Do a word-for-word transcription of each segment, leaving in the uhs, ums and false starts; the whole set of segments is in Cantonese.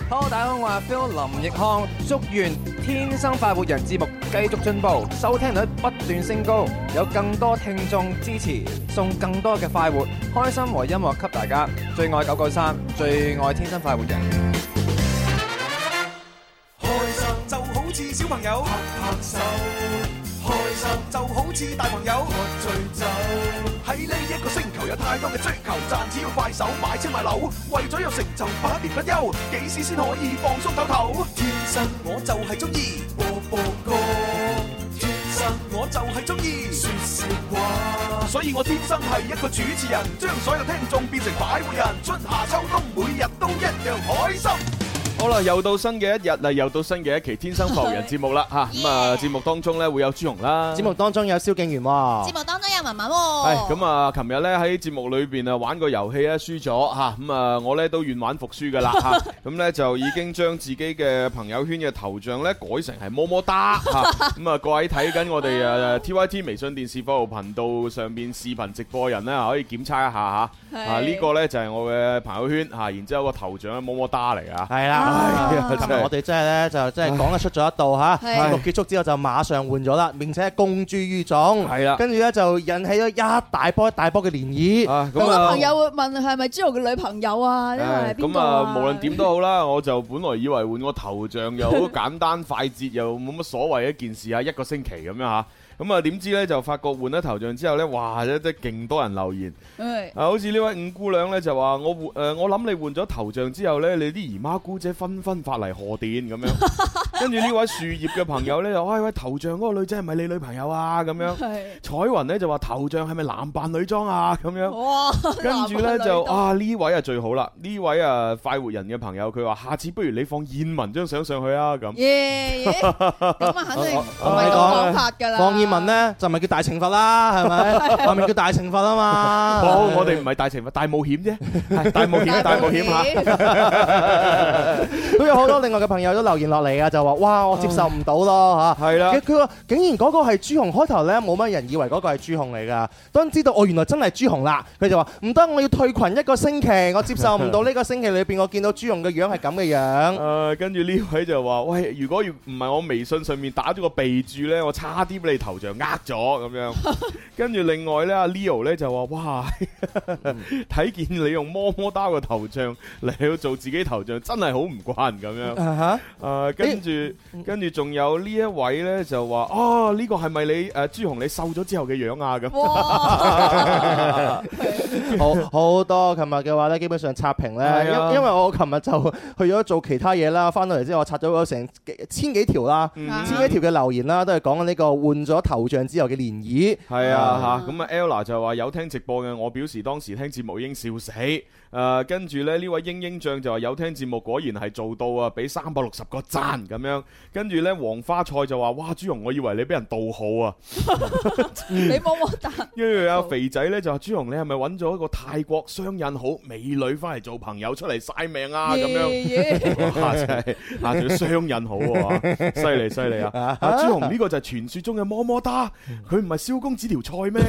Hello， 大家好，我係 Phil 林奕康，祝願《天生快活人》節目繼續進步，收聽率不斷升高，有更多聽眾支持，送更多嘅快活、開心和音樂給大家。最愛九九三，最愛天生快活人。 開心就好似小朋友拍拍手，開心就好似大朋友喝醉酒。喺呢一個星球有太多嘅追求，賺錢要快手買車買樓，為咗有成就百年不休，幾時先可以放鬆唞唞？天生我就係中意播播歌，天生我就係中意説笑話，所以我天生係一個主持人，將所有聽眾變成快活人，春夏秋冬每日都一樣開心。 好啦，又到新嘅一日啦，又到新嘅一期《天生浮人》節目啦嚇。咁啊，節目當中咧會有朱紅啦， 節目當中有蕭敬元喎， 節目當中有文文喎。 係咁啊，琴日咧喺節目裏邊啊玩個遊戲咧輸咗嚇，咁啊我咧都願玩服輸噶啦嚇，咁咧就已經將自己嘅朋友圈嘅頭像咧改成係麼麼噠嚇，咁啊各位睇緊我哋誒 T Y T 微信電視服務頻道上邊視頻直播人咧可以檢測一下嚇，啊呢個咧就係我嘅朋友圈嚇，然之後個頭像係麼麼噠嚟啊， 係啦。琴日我哋真係咧就真係講得出咗一道嚇，節目結束之後就馬上換咗啦，並且公諸於眾，係啦，跟住咧就引起咗一大波一大波嘅漣漪。 好多朋友會問係咪朱紅嘅女朋友啊？因為係邊個啊？ 咁啊，無論點都好啦，我就本來以為換個頭像又好簡單快捷，又冇乜所謂一件事啊，一個星期咁樣嚇。咁啊，點知咧就發覺換咗頭像之後咧，哇！真係勁多人留言，啊，好似呢位五姑娘咧就話我換誒，我諗你換咗頭像之後咧，你啲姨媽姑姐紛紛發嚟賀電咁樣。跟住呢位樹葉嘅朋友咧就，喂喂，頭像嗰個女仔係咪你女朋友啊？咁樣。彩雲咧就話頭像係咪男扮女裝啊？咁樣。哇！跟住咧就啊呢位啊最好啦，呢位啊快活人嘅朋友佢話：下次不如你放燕文張相上去啊咁。 耶耶！咁啊肯定唔係咁講法㗎啦。 葉問咧就唔係叫大懲罰啦，係咪？外面叫大懲罰啊嘛。 好，我哋唔係大懲罰，大冒險啫，係大冒險，大冒險嚇。 都有好多另外嘅朋友都留言落嚟啊，就話：哇，我接受唔到咯嚇。係啦，佢話竟然嗰個係朱紅，開頭咧冇乜人以為嗰個係朱紅嚟㗎。當知道我原來真係朱紅啦，佢就話唔得，我要退群一個星期，我接受唔到呢個星期裏邊我見到朱紅嘅樣係咁嘅樣。 誒，跟住呢位就話：喂，如果要唔係我微信上面打咗個備註咧，我差啲俾你投。頭像呃咗咁樣，跟住另外咧，阿 Leo 咧就話：哇，睇見你用麼麼噠個頭像嚟去做自己頭像，真係好唔慣咁樣。誒、uh，跟住跟住仲有呢一位咧就話：哦，呢、這個係咪你誒、呃、朱紅你瘦咗之後嘅樣啊？咁， 好好多。琴日嘅話咧，基本上刷屏咧，因、啊、因為我琴日就去咗做其他嘢啦，翻到嚟之後我刷咗成千幾條啦，嗯、千幾條嘅留言啦，都係講緊呢個換咗頭像之後嘅漣漪。 係啊嚇，咁啊 Ella 就話有聽直播嘅，我表示當時聽節目已經笑死。誒、呃，跟住咧呢位英英醬就話有聽節目，果然係做到啊，俾三百六十個讚咁樣。跟住咧黃花菜就話：哇，朱紅，我以為你俾人盜號啊！ 你麼麼噠。 跟住阿肥仔咧就話：朱紅，你係咪揾咗一個泰國雙引好美女翻嚟做朋友出嚟晒命啊？咁樣，哇，真係啊，仲要雙引好喎，犀利犀利啊！阿朱紅呢個就係傳説中嘅麼麼噠，佢唔係蕭公子條菜咩？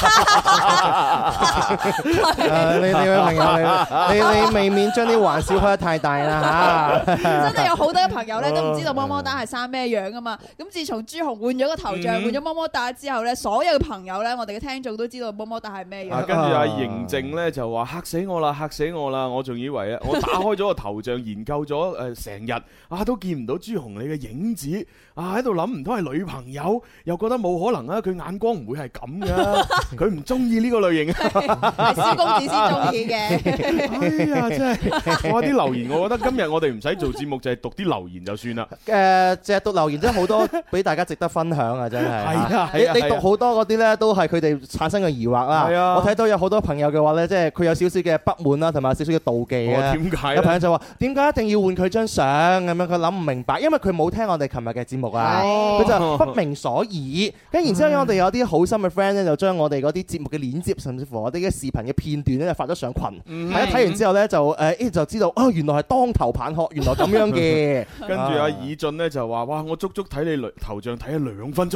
你你位朋友你你未免將啲玩笑開得太大啦嚇！ 真係有好多嘅朋友咧都唔知道麼麼噠係生咩樣噶嘛。咁自從朱紅換咗個頭像，換咗麼麼噠之後咧，所有嘅朋友咧，我哋嘅聽眾都知道麼麼噠係咩樣。 跟住阿嬴靜咧就話：嚇死我啦，嚇死我啦！我仲以為啊，我打開咗個頭像研究咗誒成日啊，都見唔到朱紅你嘅影子啊，喺度諗唔通係女朋友，又覺得冇可能啊！佢眼光唔會係咁噶，佢唔中意呢個類型啊， 係蕭公子先中意嘅。 哎呀，真係哇！啲留言，我覺得今日我哋唔使做節目，就係讀啲留言就算啦。 誒，淨係讀留言真係好多俾大家值得分享啊！真係。 係啊， 你你讀好多嗰啲咧，都係佢哋產生嘅疑惑啦。係啊。我睇到有好多朋友嘅話咧，即係佢有少少嘅不滿啦，同埋少少嘅妒忌啊。 點解？ 有朋友就話：點解一定要換佢張相咁樣？佢諗唔明白，因為佢冇聽我哋琴日嘅節目啊。佢就不明所以。跟然之後，我哋有啲好心嘅 friend 咧，就將我哋嗰啲節目嘅鏈接，甚至乎我哋嘅視頻嘅片段咧，就發咗上群。睇睇完之後咧，就誒就知道哦，原來係當頭棒喝，原來咁樣嘅。 跟住阿以俊咧就話：哇！我足足睇你頭像睇咗兩分鐘，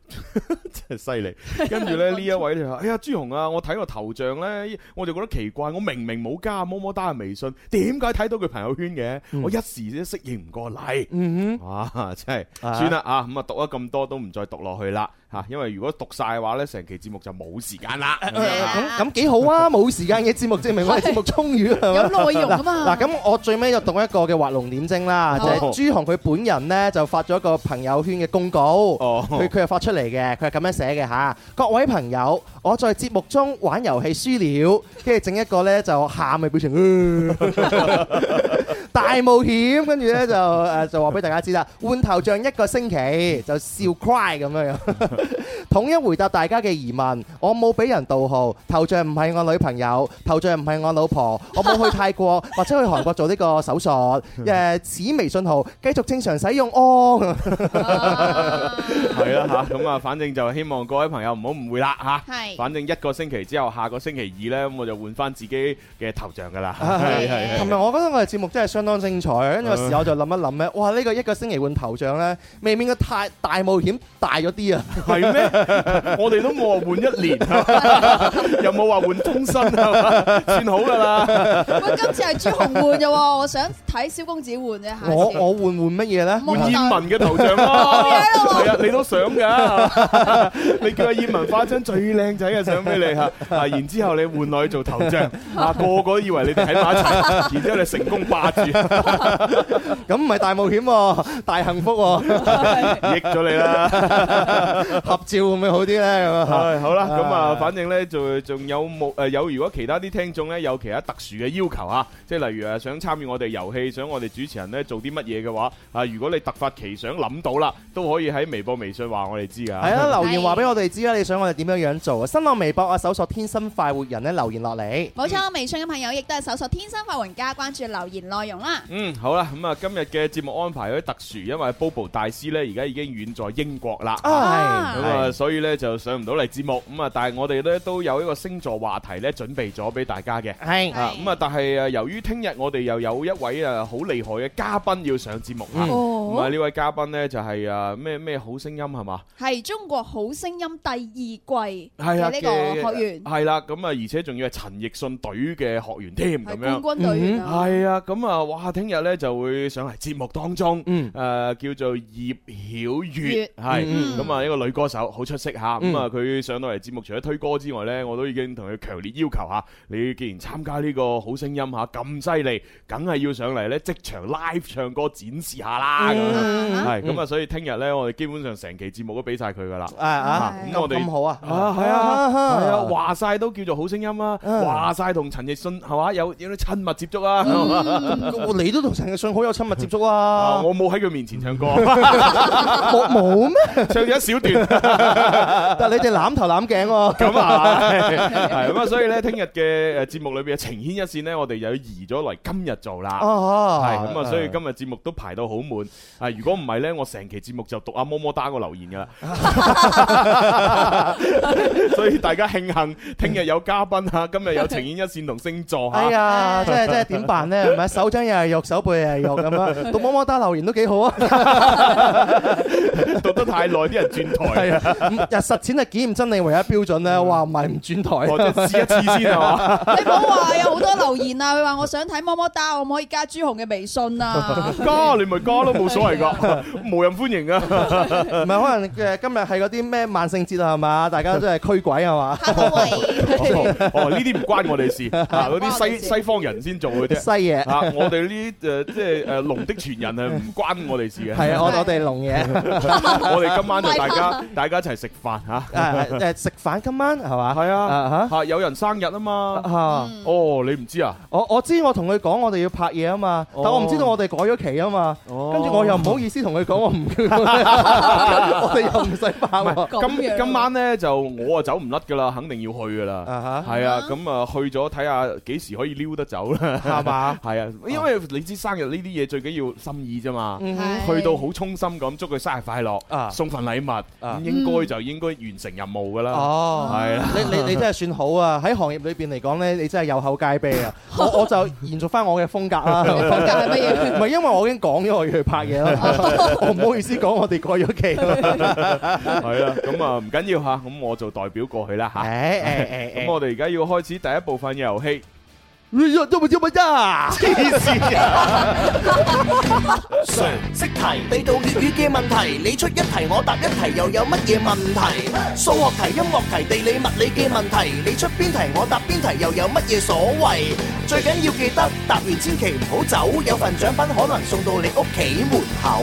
真係犀利。跟住咧呢一位就話：哎呀，朱紅啊，我睇個頭像咧，我就覺得奇怪，我明明冇加麼麼噠嘅微信，點解睇到佢朋友圈嘅？ 嗯、 我一時都適應唔過嚟。 嗯哼， 啊，真係算啦啊，咁啊讀咗咁多都唔再讀落去啦嚇，因為如果讀晒嘅話咧，成期節目就冇時間啦。 咁咁幾好啊！冇時間嘅節目證明我哋節目充裕係嘛？ 有內容啊嘛。 嗱，咁我最尾就讀一個嘅畫龍點睛啦，就係朱紅佢本人咧就發咗一個朋友圈嘅公告，佢佢又發出嚟嘅，佢係咁樣寫嘅嚇。各位朋友，我在節目中玩遊戲輸了，跟住整一個咧就喊嘅表情，大冒險，跟住咧就誒就話俾大家知啦，換頭像一個星期就笑 cry 咁樣樣，統一回答大家嘅疑問。我冇俾人盜號，頭像唔係我女朋友，頭像唔係我老婆，我冇去泰國或者去韓國做呢個手術。誒，此微信號繼續正常使用哦。 係啦嚇，咁啊，反正就希望各位朋友唔好誤會啦嚇。 係。 反正一個星期之後，下個星期二咧，咁我就換翻自己嘅頭像噶啦。 係係。琴日我覺得我哋節目真係相當精彩，跟住有時我就諗一諗咧，哇！呢個一個星期換頭像咧，未免嘅太大冒險大咗啲啊！ 係咩？我哋都冇話換一年，又冇話換終身，算好噶啦。 喂，今次係朱紅換嘅喎，我想睇蕭公子換啫。 我我換換乜嘢咧？ 換燕文嘅頭像咯。係啊，你都想㗎？你叫阿燕文發張最靚仔嘅相俾你嚇，啊，然之後你換落去做頭像，啊，個個都以為你哋喺埋一齊，然之後你成功霸住， 咁唔係大冒險喎，大幸福喎， 益咗你啦。 合照會唔會好啲咧？咁啊， 係好啦，咁啊，反正咧就仲有冇誒有？如果其他啲聽眾咧有其他特殊嘅要求嚇，即係例如誒想參與我哋遊戲，想我哋主持人咧做啲乜嘢嘅話，啊，如果你突發奇想諗到啦，都可以喺微博、微信話我哋知㗎。係啊，留言話俾我哋知啦，你想我哋點樣樣做啊？新浪微博啊，搜索天生快活人咧，留言落嚟。 冇錯，微信嘅朋友亦都係搜索天生快活人加關注留言內容啦。 嗯，好啦，咁啊今日嘅節目安排有啲特殊，因為 Bobo 大師咧而家已經遠在英國啦，咁啊所以咧就上唔到嚟節目，咁啊但係我哋咧都有一個星座話題咧準備咗俾大家嘅， 係啊咁啊但係誒由於聽日我哋又有一位誒好厲害嘅嘉賓要上節目，咁啊呢位嘉賓咧就係誒咩咩好聲音係嘛？ 係中國好聲音第二季嘅呢個學員， 係啦，咁啊而且仲要係陳奕迅隊嘅學員添，咁樣冠軍隊員啊， 係啊，咁啊哇聽日咧就會上嚟節目當中，誒叫做葉曉月，係咁啊一個女歌手，好出色嚇，咁啊佢上到嚟節目除咗推歌之外咧，我都已經同佢強烈要求嚇，你既然參加呢個好聲音嚇咁犀利，梗係要上嚟咧即場 live 唱歌展示下啦，係咁啊，所以聽日咧我哋基本上成期節目都俾晒佢噶啦， 啊啊， 咁我哋咁好啊， 啊係啊係啊，話晒都叫做好聲音啊，話晒同陳奕迅係嘛有有啲親密接觸啊， 你都同陳奕迅好有親密接觸啊， 我冇喺佢面前唱歌， 冇冇咩？ 唱咗一小段， 但係你哋攬頭攬頸喎， 咁啊係咁啊，所以咧聽日嘅誒節目裏邊嘅情牽一線咧，我哋又移咗嚟今日做啦，係咁啊，所以今日節目都排到好滿啊！如果唔係咧，我成期節目就讀阿麼麼噠個留言噶啦，所以大家慶幸聽日有嘉賓嚇，今日有情牽一線同星座嚇。 哎呀，即係即係點辦咧？係咪手掌又係肉，手背又係肉咁樣？讀麼麼噠留言都幾好啊！ 讀得太耐，啲人轉台。 係啊，日實踐係檢驗真理唯一標準咧。哇，唔係唔轉台， 我試一次先係嘛？ 你唔好話有好多留言啊！佢話我想睇麼麼噠，可唔可以加朱紅嘅微信啊？ 加你咪加咯，冇所謂㗎，無人歡迎啊！ 唔係可能誒今日係嗰啲咩萬聖節啊係嘛？大家都係驅鬼係嘛？ 哦，呢啲唔關我哋事啊！嗰啲西西方人先做嘅啫， 西嘢啊！我哋呢啲誒即係誒龍的傳人係唔關我哋事嘅。 係啊，我我哋龍嘢。 我哋今晚就大家大家一齊食飯嚇。 誒誒食飯今晚係嘛？ 係啊嚇，有人生日啊嘛嚇。哦，你唔知啊？ 我我知，我同佢講我哋要拍嘢啊嘛，但我唔知道我哋改咗期啊嘛。跟住我又唔好意思同佢講我唔叫，我哋又唔使拍喎。 今今晚咧就我啊走唔甩噶啦，肯定要去噶啦。係啊，咁啊去咗睇下幾時可以撩得走啦， 係嘛？ 係啊，因為為你知生日呢啲嘢最緊要心意啫嘛， 係去到好衷心咁祝佢生日快樂， 啊送份禮物，咁應該就應該完成任務㗎啦。 哦， 係啦， 你你你真係算好啊！喺行業裏邊嚟講咧，你真係有口皆碑啊！我我就延續翻我嘅風格啦。 風格係乜嘢？ 唔係因為我已經講咗我要去拍嘢啦，我唔好意思講我哋過咗期啦。 係啊，咁啊唔緊要嚇，咁我就代表過去啦嚇。 誒誒誒咁我哋而家要開始第一部分嘅遊戲。 誒，做乜做乜呀？黐線啊！ 常識題，地道粵語嘅問題，你出一題我答一題，又有乜嘢問題？數學題、音樂題、地理物理嘅問題，你出邊題我答邊題，又有乜嘢所謂？最緊要記得答完千祈唔好走，有份獎品可能送到你屋企門口。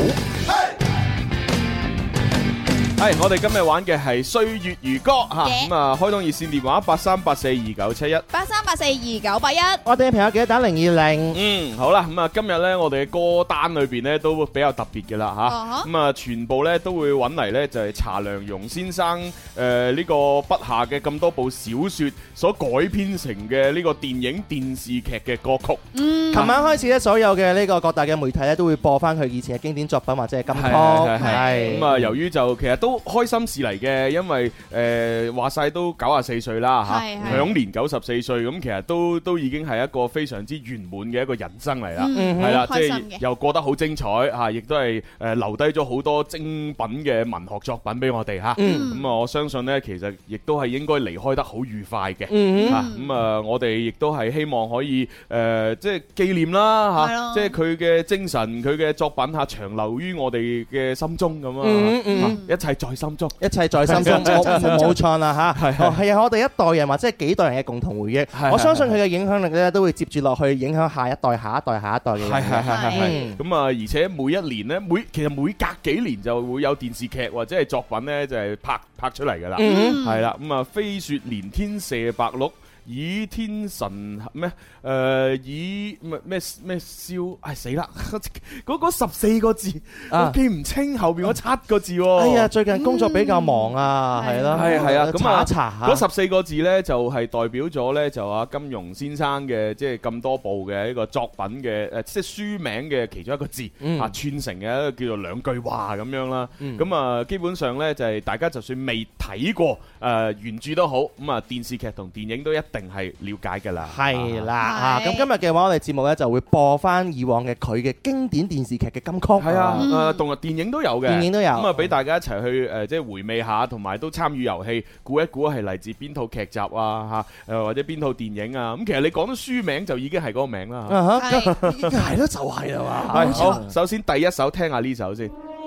係，我哋今日玩嘅係歲月如歌嚇，咁啊開通熱線電話八三八四二九七一， 八三八四二九八一。 我哋嘅朋友記得打零二零。 嗯，好啦，咁啊今日咧我哋嘅歌單裏邊咧都比較特別嘅啦嚇，咁啊全部咧都會揾嚟咧就係查良鏞先生誒呢個筆下嘅咁多部小説所改編成嘅呢個電影電視劇嘅歌曲。 嗯， 琴晚開始咧，所有嘅呢個各大嘅媒體咧都會播翻佢以前嘅經典作品或者係金曲。 係係咁啊，由於就其實都開心事嚟嘅，因為誒話晒都九十四歲啦嚇， 係係享年九十四歲，咁其實都都已經係一個非常之圓滿嘅一個人生嚟啦， 嗯係啦，即係開心嘅又過得好精彩嚇，亦都係誒留低咗好多精品嘅文學作品俾我哋嚇。 嗯咁啊，我相信呢，其實亦都係應該離開得好愉快嘅嗯嚇。咁啊，我哋亦都係希望可以誒，即係紀念啦嚇， 係咯即係佢嘅精神、佢嘅作品嚇，長留於我哋嘅心中咁嗯嗯啊，一切在心中。 一切在心中，冇冇錯啦嚇。 係係哦係啊，我哋一代人或者係幾代人嘅共同回憶。 係我相信佢嘅影響力咧，都會接住落去影響下一代、下一代、下一代嘅人。 係係係係係嗯咁啊！而且每一年呢，每其實每隔幾年就會有電視劇或者係作品呢，就係拍拍出嚟㗎啦。 嗯係啦，咁啊，飛雪連天射白鹿。倚天神咩？誒以咩咩咩燒？唉死啦！嗰嗰十四個字我記唔清後邊嗰七個字喎。 哎呀，最近工作比較忙啊，係咯， 係係啊，咁啊查一查嗰十四個字呢，就係代表咗呢，就啊金庸先生嘅即係咁多部嘅一個作品嘅誒，即係書名嘅其中一個字啊串成嘅一個叫做兩句話咁樣啦。咁啊基本上呢，就係大家就算未睇過誒原著都好，咁啊電視劇同電影都一定係了解㗎啦。 係啦係啊！咁今日嘅話，我哋節目咧就會播翻以往嘅佢嘅經典電視劇嘅金曲。 係啊，誒動畫電影都有嘅， 電影都有咁啊，俾大家一齊去誒，即係回味下，同埋都參與遊戲，估一估係嚟自邊套劇集啊嚇，誒或者邊套電影啊。咁其實你講到書名就已經係嗰個名啦。 啊哈， 係係咯，就係啦嘛。 係好，首先第一首聽下呢首先。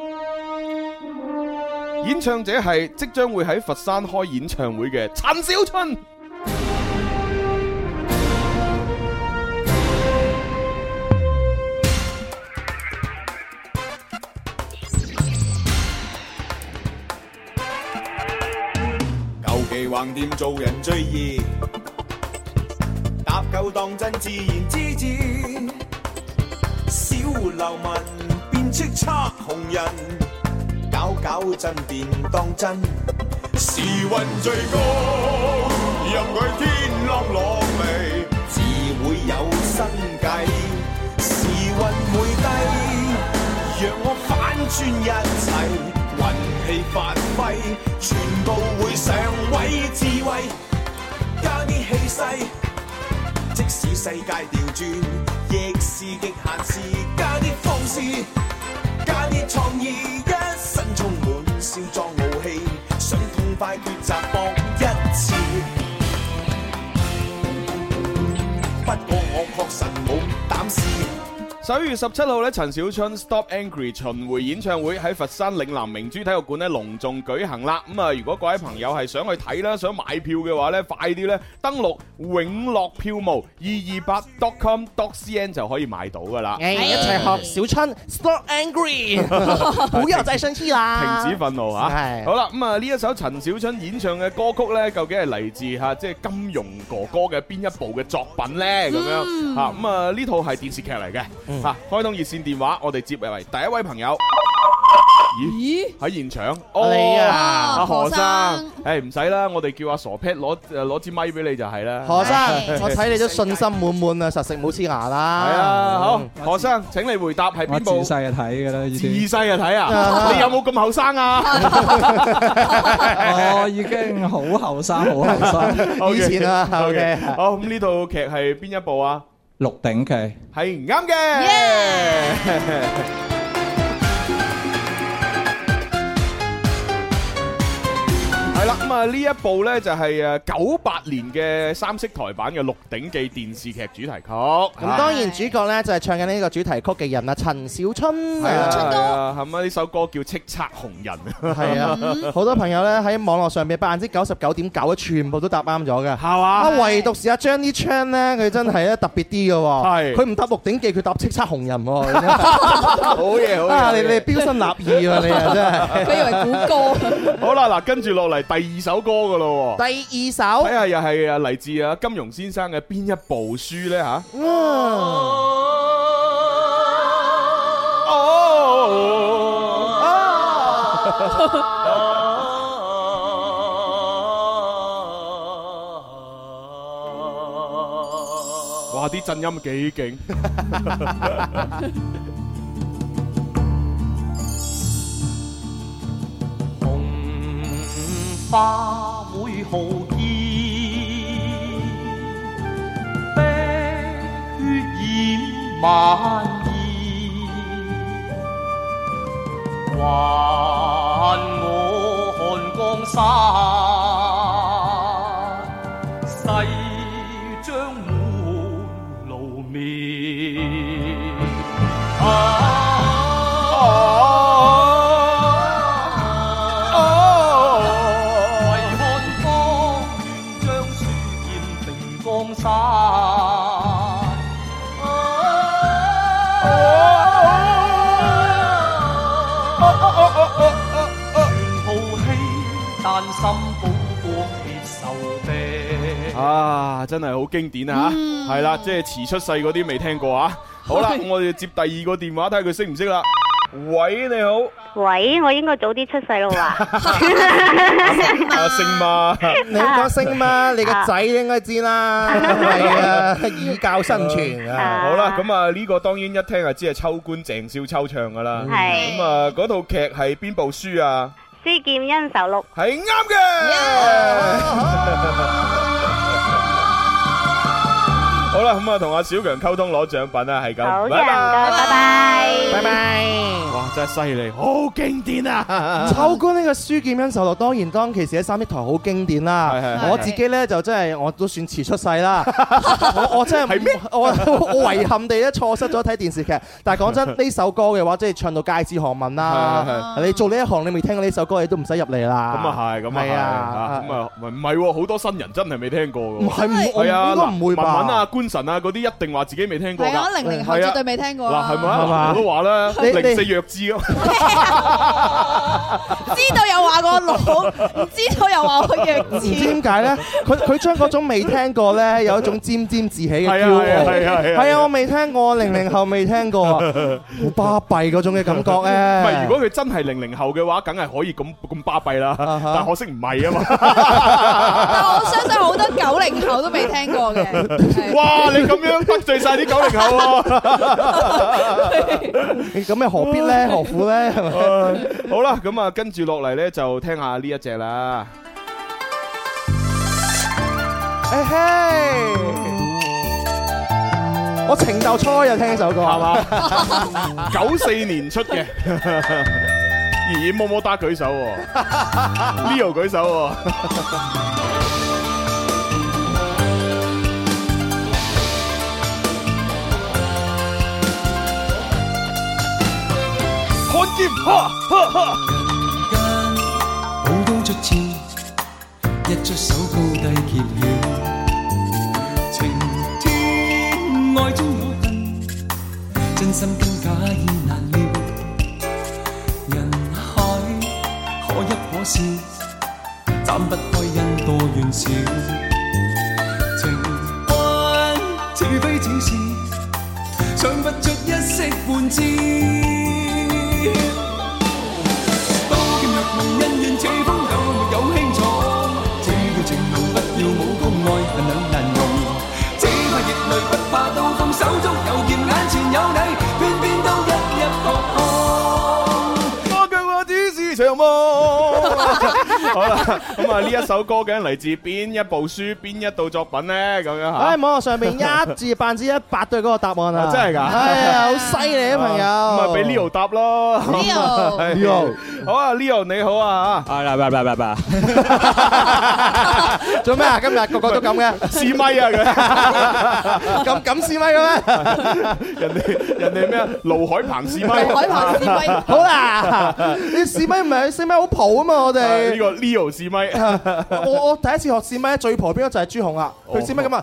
演唱者係即將會喺佛山開演唱會嘅陳小春。 舊記橫掂做人最易，搭夠當真自然之至。小流民變叱咤紅人，搞搞震便當真。時運最高，任佢天啷落嚟，自會有新計。時運會低，讓我反轉一切。運氣發揮，全部會上位，智慧加啲氣勢，即使世界調轉，亦是極限事，加啲方式，加啲創意，一身充滿少壯傲氣，想痛快抉擇搏一次。不過我確實冇膽試。 十一月十七號咧，陳小春 Stop Angry 巡迴演唱會喺佛山嶺南明珠體育館咧隆重舉行啦。咁啊，如果各位朋友係想去睇啦，想買票嘅話咧，快啲咧登錄永樂票務二二八 dot com dot cn 就可以買到噶啦。 誒，一齊學小春 Stop Angry，不要再生氣啦， 停止憤怒嚇。 係好啦，咁啊呢一首陳小春演唱嘅歌曲咧，究竟係嚟自嚇即係金庸哥哥嘅邊一部嘅作品咧？咁樣嚇咁啊呢套係電視劇嚟嘅。嚇，開通熱線電話，我哋接入嚟第一位朋友。 咦？喺現場？ 你啊， 阿何生， 生誒唔使啦，我哋叫阿傻 Pat 攞誒攞支咪俾你就係啦。 何生，我睇你都信心滿滿啊，實食冇黐牙啦。 係啊，好，何生請你回答係邊部？ 我自細就睇㗎啦， 自細就睇啊！你有冇咁後生啊？ 我已經好後生，好後生。 以前啊，OK。 好，咁呢套劇係邊一部啊？ 《鹿鼎記》 係啱嘅。係啦，咁啊呢一部呢就係誒九八年嘅三色台版嘅《鹿鼎記》電視劇主題曲。 咁當然主角呢就係唱緊呢個主題曲嘅人啊，陳小春。 係啊，係啊，係咪呢首歌叫《叱咤紅人》？ 係啊，好多朋友呢喺網絡上邊百分之九十九點九咧，全部都答啱咗嘅。 係嘛？ 啊，唯獨是阿 Jenny Chan 呢，佢真係咧特別啲嘅喎。 係。 佢唔答《鹿鼎記》，佢答《叱咤紅人》喎。 好嘢，好嘢。 啊，你你標新立異啊，你啊真係。 佢以為估歌。 好啦，嗱，跟住落嚟第二首歌噶咯。 第二首。 睇下又係啊嚟自啊金庸先生嘅邊一部書咧吓？哇！啲震音幾勁。 花會豪傑，碧血染萬兒，還我看江山，誓將滿爐滅。啊啊，真係好經典啊！係啦，即係遲出世嗰啲未聽過啊！好啦，我哋接第二個電話睇下佢識唔識啦。喂，你好。 喂，我應該早啲出世咯喎。 阿星媽， 你講星媽，你個仔應該知啦。係啊，以教身傳啊。 好啦，咁啊呢個當然一聽就知係秋官鄭少秋唱噶啦。 係。 咁啊嗰套劇係邊部書啊？ 書劍恩仇錄。 係啱嘅。好啦，咁啊同阿小強溝通攞獎品啦，係咁。 好嘅，唔該，拜拜， 拜拜。 哇，真係犀利，好經典啊！ 秋官呢個書劍恩仇錄，當然當其時喺三色台好經典啦。我自己咧就真係我都算遲出世啦。我我真係我我遺憾地咧錯失咗睇電視劇。但係講真，呢首歌嘅話，即係唱到街知巷聞啦。你做呢一行，你未聽過呢首歌，你都唔使入嚟啦。 咁啊係，咁啊係啊。咁啊唔係喎，好多新人真係未聽過㗎。 唔係唔係啊， 應該唔會吧？ 文文啊，官神啊，嗰啲一定話自己未聽過㗎。 係啊，零零後絕對未聽過。 嗱係咪啊？我都話啦，零四弱智咯。 知道又話我老，唔知道又話我弱智。 唔知點解咧？佢佢將嗰種未聽過咧，有一種沾沾自喜嘅驕傲。 係啊係啊係啊！我未聽過，零零後未聽過，好巴閉嗰種嘅感覺咧。 唔係，如果佢真係零零後嘅話，梗係可以咁咁巴閉啦。但可惜唔係啊嘛。 但我相信好多九零後都未聽過嘅。 哇！你咁樣得罪晒啲九零後喎。 咁又何必咧？何苦咧？ 好啦，咁啊，跟住落嚟咧就聽下呢一隻啦。 誒嘿！我情竇初開就聽呢首歌係嘛？ 九四年出嘅，咦？麼麼噠舉手，Leo 舉手。看劍，哈哈哈！ 寶刀出鞘，一出手高低揭曉。情天愛中有恨，真心跟假意難料。人海可一可笑，斬不開因多怨少。情關似非似是，唱不出一息半招。 場夢。好啦，咁啊呢一首歌究竟嚟自邊一部書、邊一道作品咧？咁樣嚇。 喺網絡上邊一至百分之一百對嗰個答案啊！ 真係㗎， 係啊，好犀利啊，朋友。 咁啊，俾 Leo 答咯。 Leo，Leo， 好啊 ，Leo 你好啊嚇。 啊啦吧吧吧吧。 做咩啊？今日個個都咁嘅， 試咪啊佢。 咁咁試咪嘅咩？ 人哋人哋咩啊？盧海鵬試咪。 盧海鵬試咪。 好啦，你試咪唔係試咪好蒲啊嘛？我哋呢個 Leo 試咪。 我我第一次學試咪最蒲邊個就係朱紅啊！佢試咪咁啊！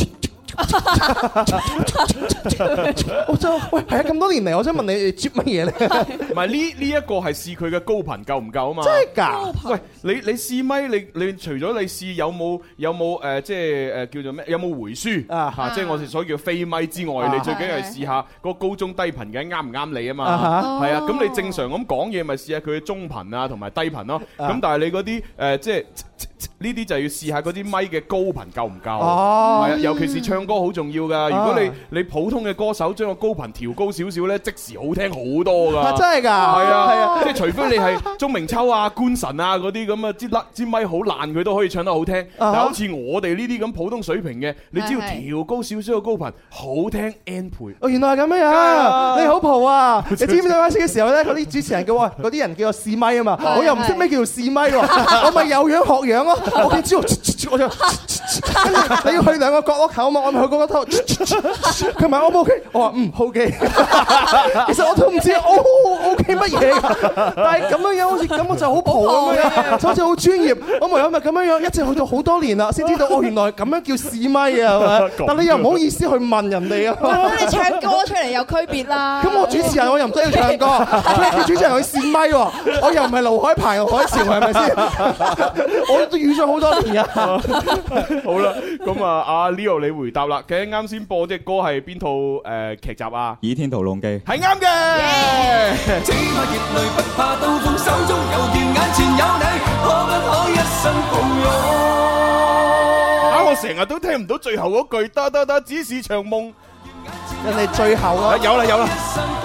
我真喂係啊！咁多年嚟，我想問你接乜嘢咧？ 唔係呢呢一個係試佢嘅高頻夠唔夠啊嘛？ 真係㗎！ 喂，你你試咪？你你除咗你試有冇有冇誒即係誒叫做咩？有冇回輸啊？嚇！即係我哋所謂叫飛咪之外，你最緊要係試下嗰個高中低頻嘅啱唔啱你啊嘛？係啊！咁你正常咁講嘢，咪試下佢嘅中頻啊同埋低頻咯。咁但係你嗰啲誒即係呢啲就要試下嗰啲咪嘅高頻夠唔夠？係啊，尤其是唱歌好重要㗎。如果你你普通嘅歌手將個高頻調高少少咧，即時好聽好多㗎。 真係㗎，係啊係啊， 即係除非你係鐘明秋啊、官神啊嗰啲咁啊，支甩支咪好爛，佢都可以唱得好聽。但係好似我哋呢啲咁普通水平嘅，你只要調高少少嘅高頻，好聽 N 倍。 哦，原來係咁樣樣，你好蒲啊！你知唔知啱先嘅時候咧，嗰啲主持人叫我，嗰啲人叫我試咪啊嘛，我又唔識咩叫做試咪喎，我咪有樣學樣咯。我見知道，我就你要去兩個角落頭啊嘛，我咪去嗰個頭。佢問我 O K，我話嗯 O K。其實我都唔知 O O K 乜嘢㗎，但係咁樣樣好似咁我就好蒲咁樣，就好似好專業。我唯有咪咁樣樣，一直去到好多年啦，先知道哦原來咁樣叫試咪啊，係咪？但你又唔好意思去問人哋啊。 咁你唱歌出嚟有區別啦。 咁我主持人我又唔需要唱歌，叫主持人去試咪喎，我又唔係盧海鵬、海潮，係咪先？我都預咗好多年㗎。 好啦，咁啊，阿 Leo 你回答啦。究竟啱先播隻歌係邊套誒劇集啊？ 《倚天屠龍記》 係啱嘅。 這個熱淚不怕刀鋒，手中有劍，眼前有你，可不可一生抱擁？ 啊！我成日都聽唔到最後嗰句，得得得，只是場夢。 人哋最後啊， 有啦有啦。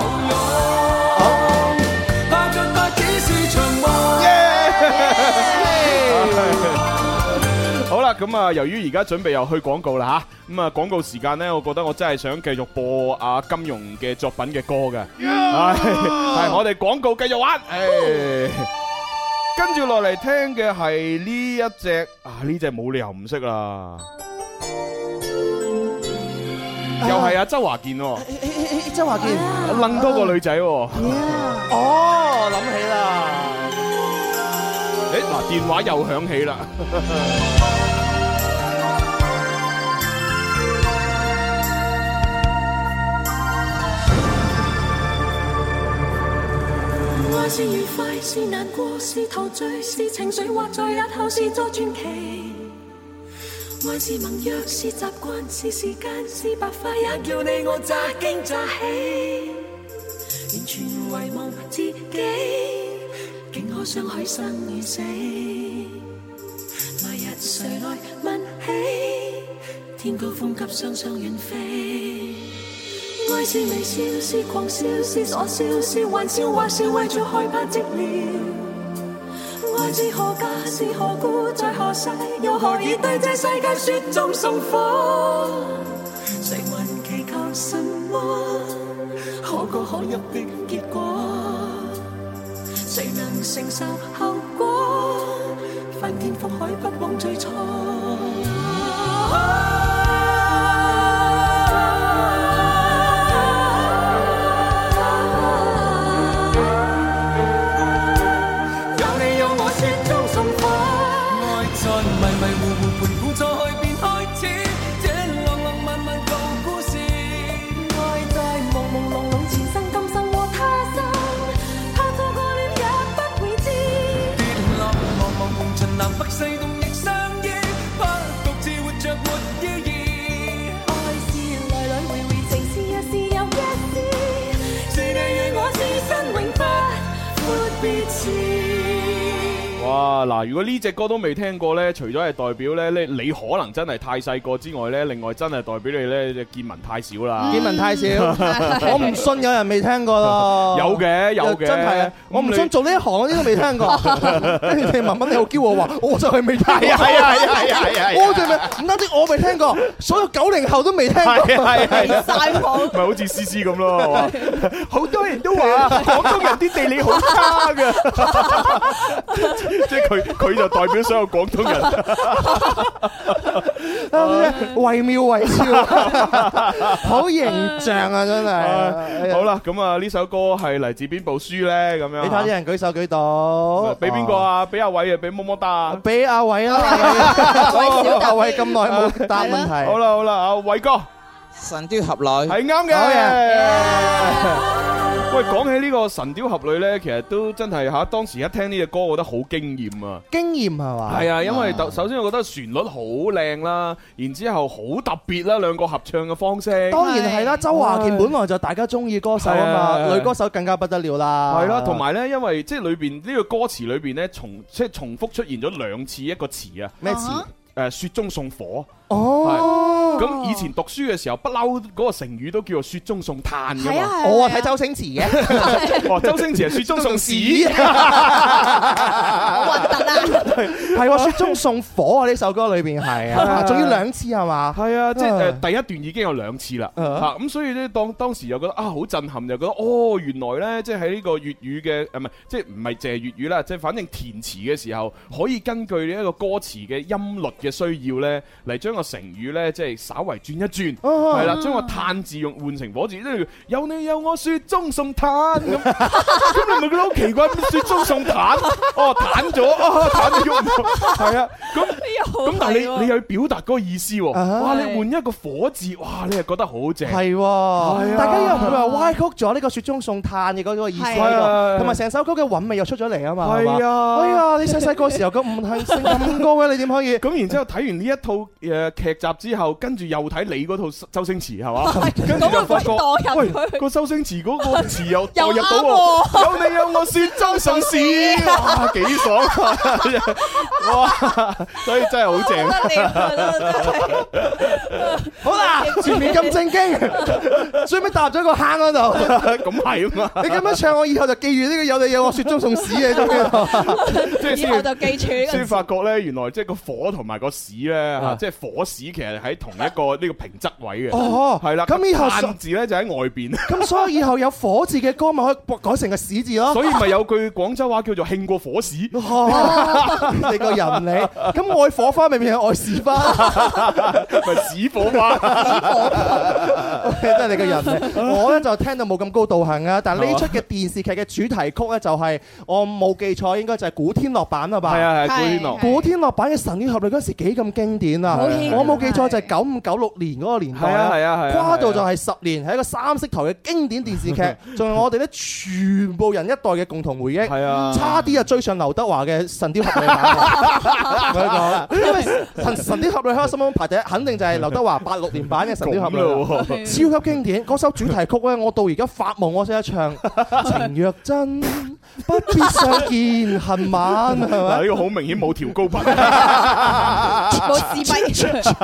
好啦，咁啊，由於而家準備又去廣告啦吓，咁啊廣告時間呢，我覺得我真係想繼續播阿金庸嘅作品嘅歌嘅，係係我哋廣告繼續玩，誒，跟住落嚟聽嘅係呢一隻啊，呢隻冇理由唔識啦，又係阿周華健喎， 周華健楞多個女仔喎， 哦，諗起啦。 誒嗱，電話又響起啦！ 愛是愉快，是難過，是陶醉，是情緒，或在日後是作傳奇。愛是盟約，是習慣，是時間，是白髮，也叫你我乍驚乍喜，完全遺忘自己。竟可相許生與死，來日誰來問起？天高風急，雙雙遠飛。愛是微笑，是狂笑，是傻笑，是玩笑，或是為著害怕寂寥。愛是何價，是何故，在何世，又何以對這世界雪中送火？誰問祈求什麼？可歌可泣的結果。誰能承受後果？翻天覆海，不枉最初。有你有我，雪中送火。愛在迷迷糊糊盤估錯去便開始，這浪浪漫漫舊故事。愛在朦朦朧朧前生今生和他生。南北西東亦相依，不獨啊，嗱，如果呢隻歌都未聽過咧，除咗係代表咧，你你可能真係太細個之外咧，另外真係代表你咧見聞太少啦。 見聞太少，我唔信有人未聽過咯。 有嘅有嘅， 真係啊！我唔信做呢一行嗰啲都未聽過。跟住你文文你好驕傲話，我就係未聽過。 係啊係啊係啊係啊！ 我就未唔單止我未聽過，所有九零後都未聽過。 係係係晒譜， 咪好似思思咁咯，係嘛？好多人都話廣東人啲地理好差㗎，即係佢佢就代表所有廣東人， 惟妙惟肖，好形象啊！真係。 好啦，咁啊呢首歌係嚟自邊部書咧？咁樣你睇啲人舉手舉到， 俾邊個啊？俾阿偉啊？俾麼麼噠啊？ 俾阿偉啦！阿偉咁耐冇答問題。 好啦好啦，阿偉哥。 神雕俠侶係啱嘅。喂，講起呢個神雕俠侶咧，其實都真係嚇，當時一聽呢隻歌，我覺得好驚豔啊！ 驚豔係嘛？ 係啊，因為首先我覺得旋律好靚啦，然之後好特別啦，兩個合唱嘅方式。 當然係啦，周華健本來就大家中意歌手啊嘛，女歌手更加不得了啦。 係啦，同埋咧，因為即係裏邊呢個歌詞裏邊咧，重即係重複出現咗兩次一個詞啊。 咩詞？ 誒，雪中送火。 哦， 咁以前讀書嘅時候，不嬲嗰個成語都叫做雪中送炭㗎嘛。 我啊睇周星馳嘅， 哦，周星馳係雪中送屎， 好核突啊！ 係喎，雪中送火啊！呢首歌裏邊係啊，仲要兩次係嘛？ 係啊，即係誒第一段已經有兩次啦，嚇咁所以咧當當時又覺得啊好震撼，就覺得哦原來咧即係喺呢個粵語嘅誒唔係即係唔係淨係粵語啦，即係反正填詞嘅時候可以根據呢一個歌詞嘅音律嘅需要咧嚟將個成語咧，即係稍為轉一轉，係啦，將個炭字用換成火字，即係有你有我雪中送炭咁，咁你咪覺得好奇怪？雪中送炭，哦，炭咗，哦，炭咗喐唔到，係啊，咁咁但係你你又要表達嗰個意思喎，哇！你換一個火字，哇！你係覺得好正， 係喎，大家又唔會話歪曲咗呢個雪中送炭嘅嗰個意思喺度，同埋成首歌嘅韻味又出咗嚟啊嘛， 係啊， 哎呀，你細細個時候咁唔係性咁高嘅，你點可以？ 咁然之後睇完呢一套誒劇集之後，跟住又睇你嗰套周星馳係嘛？跟住就發覺，喂，個周星馳嗰個詞又代入到喎，有你有我雪中送屎，哇，幾爽啊！哇，所以真係好正。 好啦，前面咁正經，最尾踏咗個坑嗰度， 咁係啊嘛！ 你咁樣唱，我以後就記住呢個有你有我雪中送屎嘅， 即係以後就記住呢個。 先發覺咧，原來即係個火同埋個屎咧，即係火屎其實喺同一個呢個平仄位嘅。哦，係啦。咁以後炭字咧就喺外邊。 咁所以以後有火字嘅歌咪可以改成個屎字咯。 所以咪有句廣州話叫做興過火屎。 你個人你咁愛火花咪變成愛屎花， 咪屎火花。 真係你個人嚟。我咧就聽到冇咁高道行啊，但係呢出嘅電視劇嘅主題曲咧就係我冇記錯應該就係古天樂版啦吧？ 係啊係古天樂。 古天樂版嘅《神雕俠侶》嗰時幾咁經典啊！我冇記錯就係九五九六年嗰個年代啊， 係啊係啊， 跨度就係十年，係一個三色台嘅經典電視劇，仲係我哋咧全部人一代嘅共同回憶。係啊，差啲啊追上劉德華嘅《神雕俠侶》版。我講啦，因為《神雕俠侶》喺我心中排第一，肯定就係劉德華八六年版嘅《神雕俠侶》，超級經典。嗰首主題曲咧，我到而家發夢我識得唱。情若真，不必相見恨晚，係咪？ 嗱，呢個好明顯冇調高頻， 冇試咪，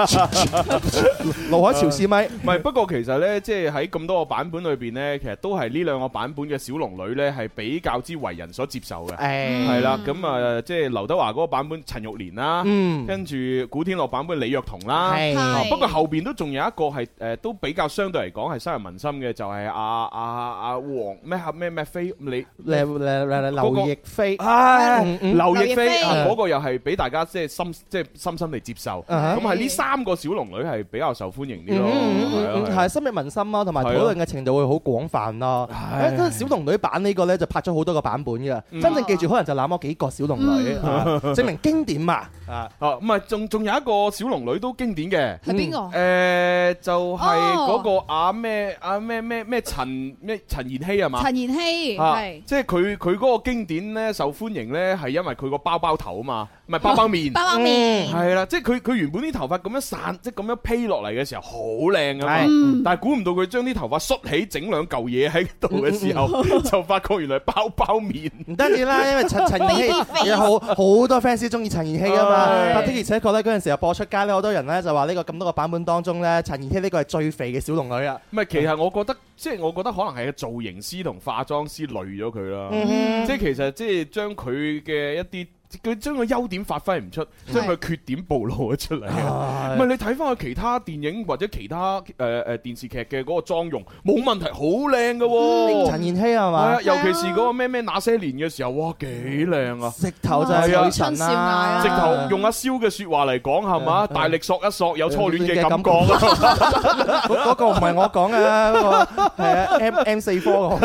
盧海潮試咪。 唔係，不過其實咧，即係喺咁多個版本裏邊咧，其實都係呢兩個版本嘅小龍女咧，係比較之為人所接受嘅。係啦，咁啊，即係劉德華嗰個版本陳玉蓮啦，跟住古天樂版本李若彤啦。不過後邊都仲有一個係誒，都比較相對嚟講係深入民心嘅，就係阿阿阿黃咩咩咩飛你劉亦菲， 係劉亦菲嗰個又係俾大家即係深即係深深地接受。咁係呢三個小龍女係比較受歡迎啲咯， 係深入民心啦，同埋討論嘅程度會好廣泛咯。誒，小龍女版呢個咧就拍咗好多個版本嘅，真正記住可能就那麼幾個小龍女，證明經典嘛。 啊，哦，唔係，仲仲有一個小龍女都經典嘅， 係邊個？ 誒，就係嗰個阿咩阿咩咩咩陳咩陳妍希係嘛？ 陳妍希係， 即係佢佢嗰個經典咧受歡迎咧，係因為佢個包包頭啊嘛，唔係包包面， 包包面係啦，即係佢佢原本啲頭髮咁樣散，即係咁樣披落嚟嘅時候好靚啊嘛，但係估唔到佢將啲頭髮梳起，整兩嚿嘢喺度嘅時候，就發覺原來包包面。 唔單止啦，因為陳陳妍希有好好多 fans 中意陳妍希啊嘛，的而且確咧嗰陣時候播出街咧，好多人咧就話呢個咁多個版本當中咧，陳妍希呢個係最肥嘅小龍女啊。 唔係，其實我覺得即係我覺得可能係個造型師同化妝師累咗佢啦， 嗯、 即係其實即係將佢嘅一啲。佢將個優點發揮唔出，將佢缺點暴露咗出嚟。唔係你睇翻佢其他電影或者其他誒誒電視劇嘅嗰個妝容，冇問題，好靚㗎喎。 陳妍希係嘛？ 係啊，尤其是嗰個咩咩那些年嘅時候，哇幾靚啊！ 直頭就係女神啦， 直頭用阿蕭嘅説話嚟講係嘛？大力索一索，有初戀嘅感覺啊！ 嗰個唔係我講啊，嗰個係啊 M M 四科講。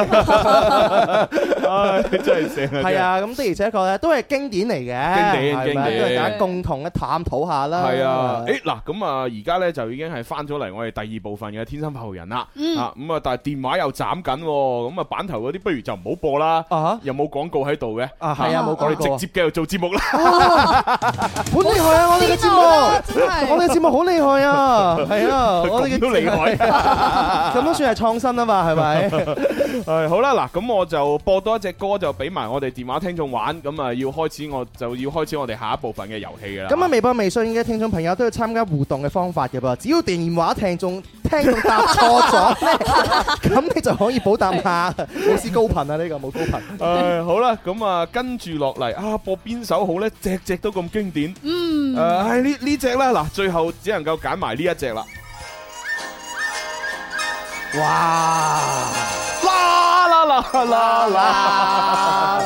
唉，真係正啊！ 係啊，咁的而且確咧都係經典嚟嘅， 經典經典， 都係大家共同嘅探討下啦。 係啊，誒嗱，咁啊，而家咧就已經係翻咗嚟我哋第二部分嘅天生發育人啦。啊，咁啊，但係電話又斬緊，咁啊，版頭嗰啲不如就唔好播啦。又冇廣告喺度嘅。 啊，係啊，冇廣告。 直接繼續做節目啦。 好厲害啊！我哋嘅節目，我哋嘅節目好厲害啊！係啊，我哋嘅都厲害， 咁都算係創新啊嘛，係咪？ 係好啦，嗱，咁我就播多一隻歌，就俾埋我哋電話聽眾玩。咁啊，要開始我就要開始我哋下一部分嘅遊戲噶啦。 咁啊，微博、微信嘅聽眾朋友都要參加互動嘅方法嘅噃，只要電話聽眾聽眾答錯咗咧，咁你就可以補答下。老師高頻啊，呢個冇高頻。 誒，好啦，咁啊，跟住落嚟啊，播邊首好咧？隻隻都咁經典。 嗯。 誒，係呢呢隻啦，嗱，最後只能夠揀埋呢一隻啦。 哇！ 啦啦啦啦啦！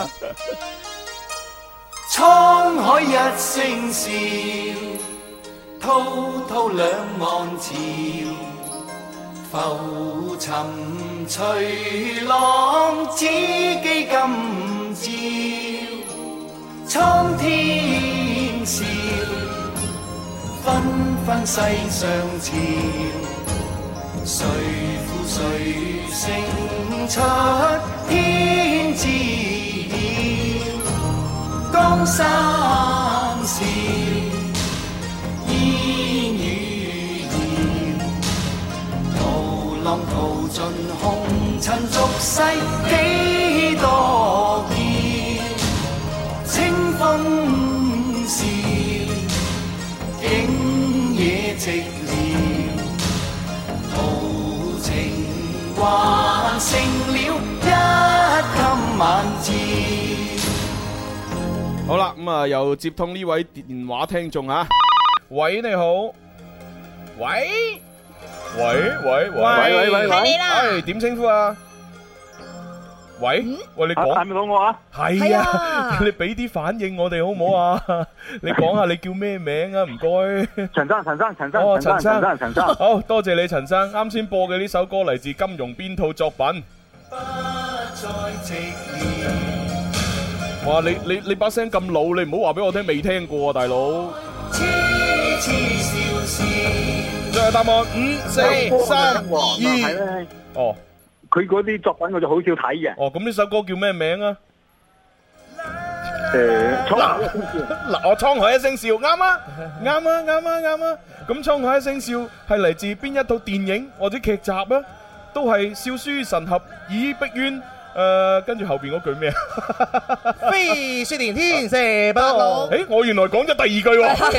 滄海一聲笑，滔滔兩岸潮，浮沉隨浪，只記今朝。蒼天笑，紛紛世上潮，誰負誰勝出天知曉。江山笑，煙雨遙，濤浪淘盡紅塵俗世幾多嬌。清風笑，景野寂寥，豪情還成了一襟晚照。 好啦，咁啊又接通呢位電話聽眾啊，喂，你好，喂，喂喂喂喂喂，係你啦，係點稱呼啊？喂，喂，你講係咪講我啊？係啊，你俾啲反應我哋好唔好啊？你講下你叫咩名啊？唔該，陳生，陳生，陳生，哦，陳生，陳生，好多謝你，陳生。啱先播嘅呢首歌嚟自金庸邊套作品？不再寂寥。哇！你你你把聲咁老，你唔好話俾我聽未聽過啊，大佬！痴痴笑笑，最後答案五、四、三、二。哦，佢嗰啲作品我就好少睇嘅。哦，咁呢首歌叫咩名啊？誒，滄海一聲笑。嗱，我滄海一聲笑，啱啊，啱啊，啱啊，啱啊。咁滄海一聲笑係嚟自邊一套電影或者劇集啊？都係笑書神俠倚碧鴛。誒，跟住後邊嗰句咩啊？飛雪連天射不老。誒，我原來講咗第二句喎。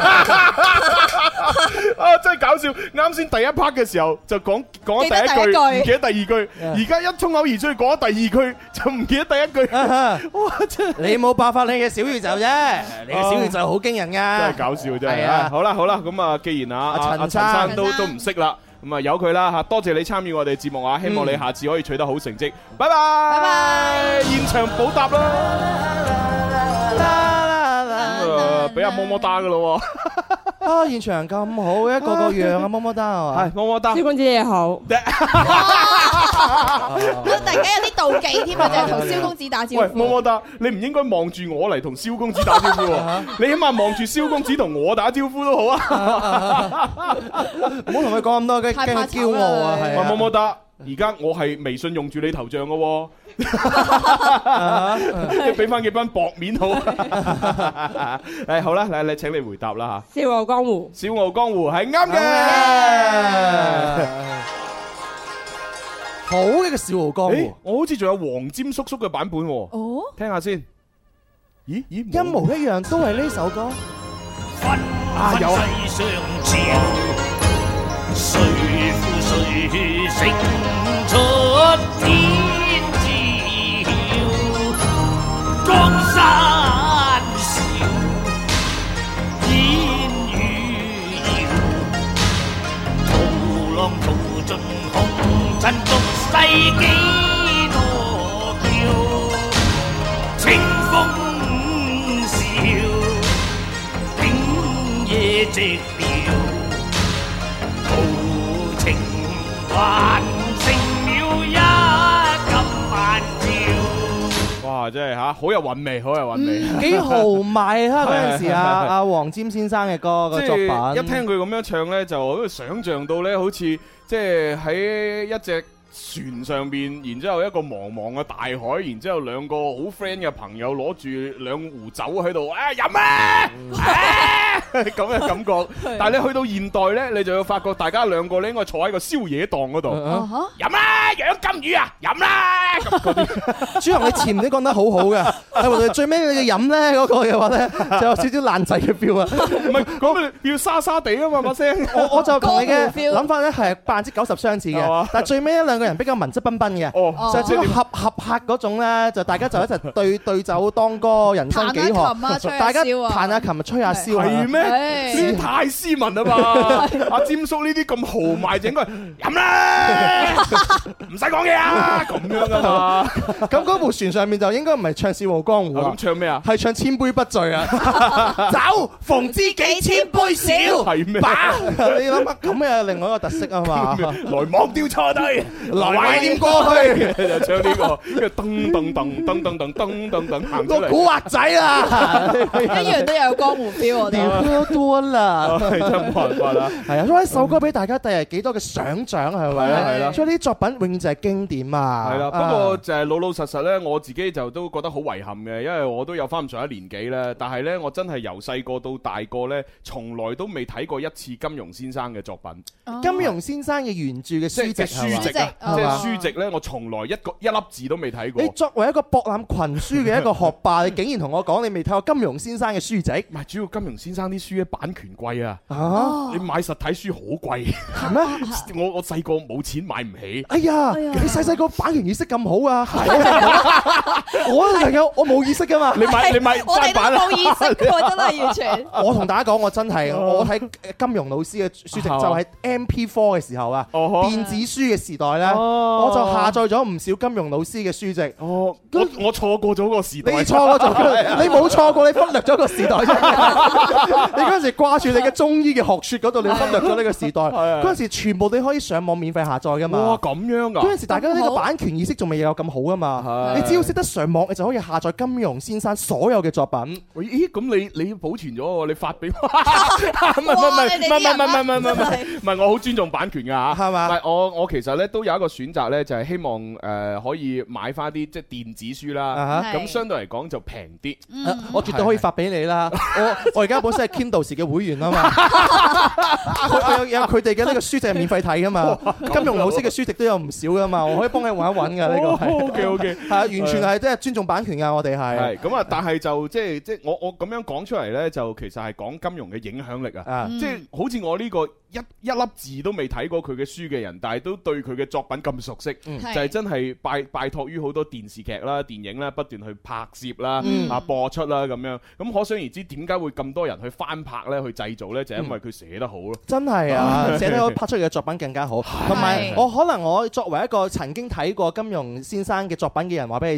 啊，真係搞笑！啱先第一 part 嘅時候就講講咗第一句，唔記得第二句。而家一衝口而出講咗第二句，就唔記得第一句。哇！真係你冇爆發你嘅小宇宙啫，你嘅小宇宙好驚人噶。真係搞笑真係啊！好啦好啦，咁啊，既然啊阿陳生都都唔識啦。咁啊，由佢啦嚇，多謝你參與我哋節目啊！希望你下次可以取得好成績。拜拜，拜拜，現場補答啦！咁啊，俾阿麼麼噠噶咯喎！啊，現場咁好，一個個樣啊，麼麼噠係嘛？係麼麼噠。小公子你好。 我突然間有啲妒忌添啊，就係同蕭公子打招呼。 喂，麼麼噠，你唔應該望住我嚟同蕭公子打招呼喎，你起碼望住蕭公子同我打招呼都好啊！ 唔好同佢講咁多，驚驚佢驕傲啊！係麼麼噠，而家我係微信用住你頭像嘅喎。即係俾翻幾班薄面好。誒好啦，嚟嚟請你回答啦嚇。 笑傲江湖， 笑傲江湖係啱嘅。 好嘅個笑傲江湖， 我好似仲有黃霑叔叔嘅版本喎。 哦， 聽下先。咦咦， 一模一樣，都係呢首歌。 啊有啊。 誰負誰勝出天照，江山笑，煙雨遙，淘浪淘盡紅塵俗世幾多嬌，清風笑，景野寂寥。情還成了一金萬條。 哇！真係嚇，好有韻味，好有韻味， 幾豪邁啊！嗰陣時啊，阿黃霑先生嘅歌個作品， 一聽佢咁樣唱咧，就好似想像到咧，好似即係喺一隻船上邊，然之後一個茫茫嘅大海，然之後兩個好 friend 嘅朋友攞住兩壺酒喺度，啊飲啊！咁嘅感覺，但係你去到現代咧，你就要發覺大家兩個咧應該坐喺個宵夜檔嗰度，飲啦，養金魚啊，飲啦！ 朱紅，你前面都講得好好嘅，係最尾你嘅飲咧嗰個嘅話咧，就有少少爛仔嘅 feel 啊！ 唔係講你要沙沙地啊嘛把聲， 我我就同你嘅諗法咧係百分之九十相似嘅，但係最尾一兩個人比較文質彬彬嘅，就係即係合合拍嗰種咧，就大家就一齊對對酒當歌，人生幾何，大家彈下琴、吹下簫， 係咩？呢啲太斯文啦嘛！阿霑叔呢啲咁豪邁，就應該飲啦，唔使講嘢啊，咁樣噶嘛。 咁嗰部船上面就應該唔係唱《笑傲江湖》啊， 咁唱咩啊？ 係唱《千杯不醉》啊！酒逢知己千杯少， 係咩？ 你諗下，咁又另外一個特色啊嘛！ 來忘掉錯對， 來懷念過去， 就唱呢個，跟住噔噔噔噔噔噔噔噔噔行出嚟。 古惑仔啦， 一樣都有江湖 feel 我哋。 多啦， 真係冇辦法啦。 係啊，所以一首歌俾大家帶嚟幾多嘅想像係咪啊？ 係啦， 所以呢啲作品永遠就係經典啊。 係啦，不過就係老老實實咧，我自己就都覺得好遺憾嘅，因為我都有翻咁上一年紀咧。但係咧，我真係由細個到大個咧，從來都未睇過一次金庸先生嘅作品。 金庸先生嘅原著嘅書籍書籍啊，即係書籍咧，我從來一個一粒字都未睇過。 你作為一個博覽群書嘅一個學霸，你竟然同我講你未睇過金庸先生嘅書籍？ 唔係，主要金庸先生啲書咧版權貴啊！ 啊， 你買實體書好貴， 係咩？ 我我細個冇錢買唔起。 哎呀，你細細個版權意識咁好啊！我都係有，我冇意識噶嘛。 你買你買翻版啊？ 我哋都冇意識喎，真係完全。 我同大家講，我真係我睇金庸老師嘅書籍就係 M P 四 嘅時候啊，電子書嘅時代咧，我就下載咗唔少金庸老師嘅書籍。 哦，我我錯過咗個時代。 你錯過咗，你冇錯過，你忽略咗個時代啫。你嗰陣時掛住你嘅中醫嘅學説嗰度，你忽略咗呢個時代。嗰陣時全部你可以上網免費下載噶嘛。 哇，咁樣噶！ 嗰陣時大家呢個版權意識仲未有咁好噶嘛。你只要識得上網，你就可以下載金庸先生所有嘅作品。 咦？咁你你保存咗喎？你發俾我？唔係唔係唔係唔係唔係唔係唔係唔係，我好尊重版權㗎嚇，係嘛？唔係我我其實咧都有一個選擇咧，就係希望誒可以買翻啲即係電子書啦。咁相對嚟講就平啲。 我絕對可以發俾你啦。我我而家本身係 Kindle 嘅會員啊嘛。佢有有佢哋嘅呢個書籍係免費睇噶嘛。金庸老師嘅書籍都有唔少噶嘛，我可以幫你揾一揾㗎呢個係。 O K O K， 係完全係即係尊重版權㗎，我哋係。 係咁啊，但係就即係即係我我咁樣講出嚟咧，就其實係講金庸嘅影響力啊。即係好似我呢個一一粒字都未睇過佢嘅書嘅人，但係都對佢嘅作品咁熟悉，就係真係拜拜託於好多電視劇啦、電影啦，不斷去拍攝啦、啊播出啦咁樣。咁可想而知點解會咁多人去翻拍咧、去製造咧，就因為佢寫得好咯。 真係啊，寫得好，拍出嚟嘅作品更加好。同埋我可能我作為一個曾經睇過金庸先生嘅作品嘅人，話俾你知咧，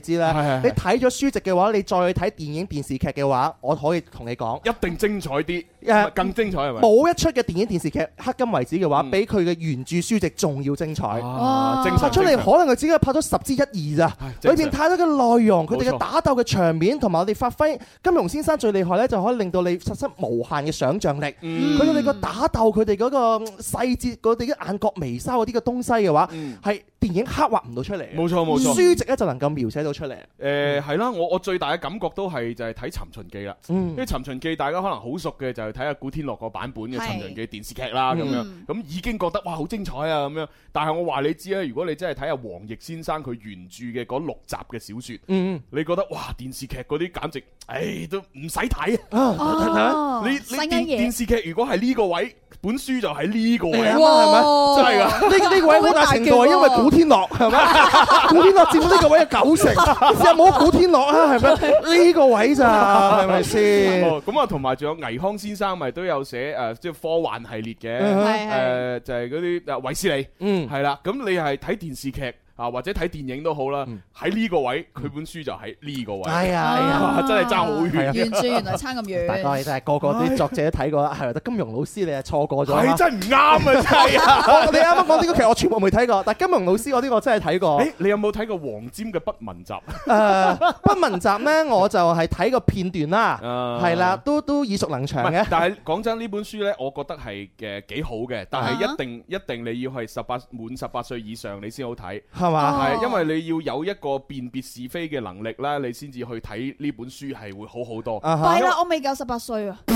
係你睇咗書籍嘅話，你再去睇電影電視劇嘅話，我可以同你講， 一定精彩啲， 誒更精彩係咪？ 冇一出嘅電影電視劇迄今為止嘅話，比佢嘅原著書籍仲要精彩。 啊，精拍出嚟可能佢只係拍咗十之一二咋，裏邊太多嘅內容，佢哋嘅打鬥嘅場面，同埋我哋發揮金庸先生最厲害咧，就可以令到你實施無限嘅想像力。佢哋個打鬥，佢哋嗰個細節，佢哋啲眼角眉梢嗰啲嘅東西嘅話，係電影刻畫唔到出嚟。 冇錯冇錯， 書籍咧就能夠描寫到出嚟。 誒係啦，我我最大嘅感覺都係就係睇《尋秦記》啦。因為《尋秦記》大家可能好熟嘅就係睇下古天樂個版本嘅《尋秦記》電視劇啦咁樣，咁已經覺得哇好精彩啊咁樣。但係我話你知啊，如果你真係睇下黃易先生佢原著嘅嗰六集嘅小説，你覺得哇電視劇嗰啲簡直誒都唔使睇啊！你你電電視劇如果係呢個位，本書就喺呢個位，係咪？真係㗎！ 呢呢個位好大程度係因為古天樂係咪？古天樂佔呢個位嘅九成，有冇古天樂啊？係咪？呢個位咋係咪先？ 咁啊，同埋仲有倪匡先生咪都有寫誒，即係科幻系列嘅，誒就係嗰啲誒衛斯理，嗯，係啦。咁你係睇電視劇啊，或者睇電影都好啦，喺呢個位，佢本書就喺呢個位。係啊，真係爭好遠。 原著原來差咁遠。 大哥，你真係個個啲作者都睇過啦，係得金庸老師你係錯過咗。 係真係唔啱啊！真係。 你啱啱講呢個劇我全部未睇過，但係金庸老師嗰啲我真係睇過。 誒，你有冇睇過黃霑嘅《不文集》？ 誒，《不文集》咧，我就係睇個片段啦，係啦，都都耳熟能詳嘅。 但係講真，呢本書咧，我覺得係嘅幾好嘅，但係一定一定你要係十八滿十八歲以上你先好睇。係嘛？係，因為你要有一個辨別是非嘅能力啦，你先至去睇呢本書係會好好多。 係啦，我未夠十八歲啊！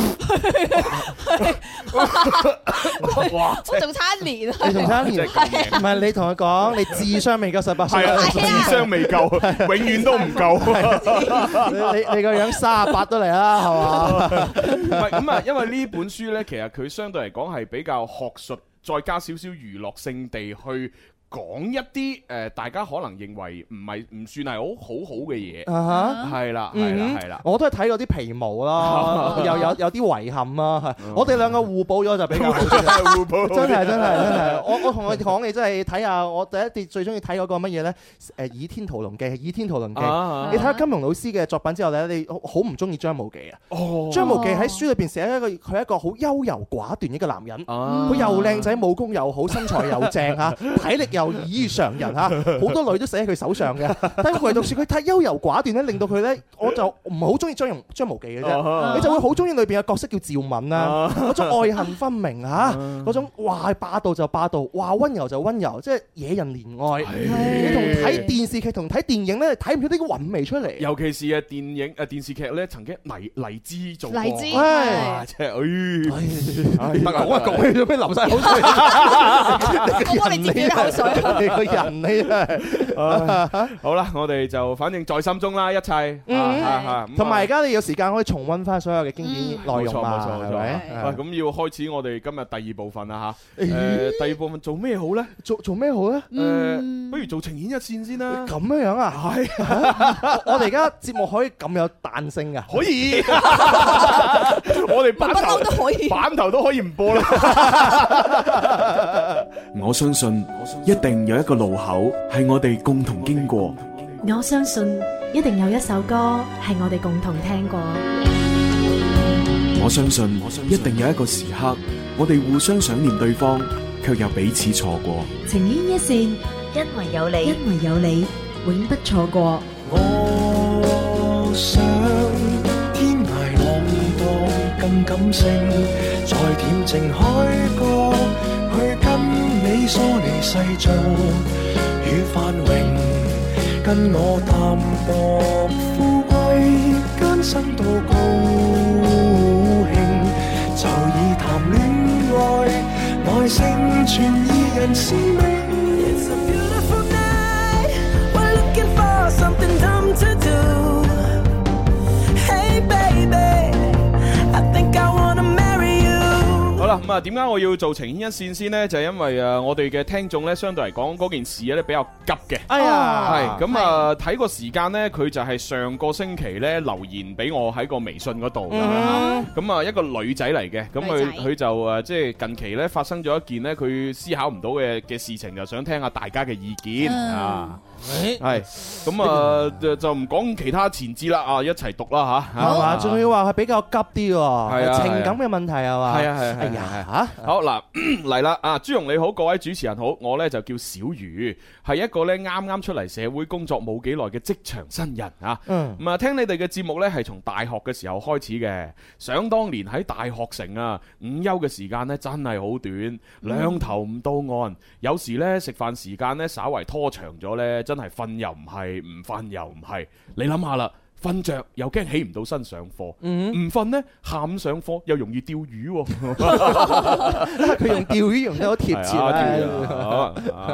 哇！ 我仲差一年， 你仲差一年，唔係你同佢講，你智商未夠十八歲， 智商未夠，永遠都唔夠。 你你個樣三十八都嚟啦，係嘛？ 唔係咁啊，因為呢本書呢，其實佢相對嚟講係比較學術，再加少少娛樂性地去講一啲誒，大家可能認為唔係唔算係好好好嘅嘢，係啦係啦係啦， 我都係睇嗰啲皮毛啦，又有有啲遺憾啦，我哋兩個互補咗就比較好啲，互補真係真係真係，我我同佢講你真係睇下，我第一啲最中意睇嗰個乜嘢咧？誒《倚天屠龍記》《倚天屠龍記》，你睇下金庸老師嘅作品之後咧，你好唔中意張無忌啊？張無忌喺書裏邊寫一個佢係一個好優柔寡斷一個男人，佢又靚仔，武功又好，身材又正嚇，體力又異於常人嚇，好多女都死喺佢手上嘅。但係唯獨是佢太優柔寡斷咧，令到佢咧，我就唔係好中意張容張無忌嘅啫。你就會好中意裏邊嘅角色叫趙敏啦，嗰種愛恨分明嚇，嗰種話霸道就霸道，話溫柔就溫柔，即係惹人憐愛。你同睇電視劇同睇電影咧，睇唔到呢個韻味出嚟。 尤其是誒電影誒電視劇咧，曾經黎黎姿做過， 黎姿哇！即係誒， 得啊，我講起做咩流晒口水？ 我幫你自己口水。 個人你真係好啦，我哋就反正在心中啦，一切。 同埋而家你有時間可以重溫翻所有嘅經典內容嘛？係咪？ 喂，咁要開始我哋今日第二部分啦嚇。誒，第二部分做咩好咧？ 做做咩好咧？ 誒，不如做情牽一線先啦。 咁樣樣啊？係。我哋而家節目可以咁有彈性㗎？ 可以。我哋版頭都可以， 版頭都可以唔播啦。 我相信一定有一個路口係我哋共同經過。 我相信一定有一首歌係我哋共同聽過。 我相信一定有一個時刻，我哋互相想念對方，卻又彼此錯過。 情牽一線，因為有你，因為有你，永不錯過。 我想天涯浪蕩更感性，在恬靜海角去跟你疏離世俗與繁榮，跟我淡薄富貴艱辛到高興，就以談戀愛來成全二人使命。It's a beautiful night, we're looking for something dumb to do. Hey baby, I think I wanna marry you. 好啦，咁啊，點解我要做情牽一線先呢？就係因為誒，我哋嘅聽眾咧，相對嚟講嗰件事咧比較急嘅。 哎呀， 係咁啊，睇個時間咧，佢就係上個星期咧留言俾我喺個微信嗰度。咁啊，一個女仔嚟嘅，咁佢佢就誒，即係近期咧發生咗一件咧，佢思考唔到嘅嘅事情，就想聽下大家嘅意見啊。 係咁啊，就就唔講其他前置啦啊，一齊讀啦吓， 係嘛？仲要話係比較急啲喎， 係啊， 情感嘅問題係嘛？ 係啊係係係係。好嗱嚟啦啊！朱紅你好，各位主持人好，我呢就叫小魚，係一個呢啱啱出嚟社會工作冇幾耐嘅職場新人啊。 嗯。 咁啊，聽你哋嘅節目呢係從大學嘅時候開始嘅。想當年喺大學城啊，午休嘅時間呢真係好短，兩頭唔到岸。有時呢食飯時間呢稍為拖長咗呢，真係瞓又唔係，唔瞓又唔係。你諗下啦。瞓着又驚起唔到身上課，唔瞓呢下午上課又容易釣魚喎。 佢用釣魚用得好貼切啊！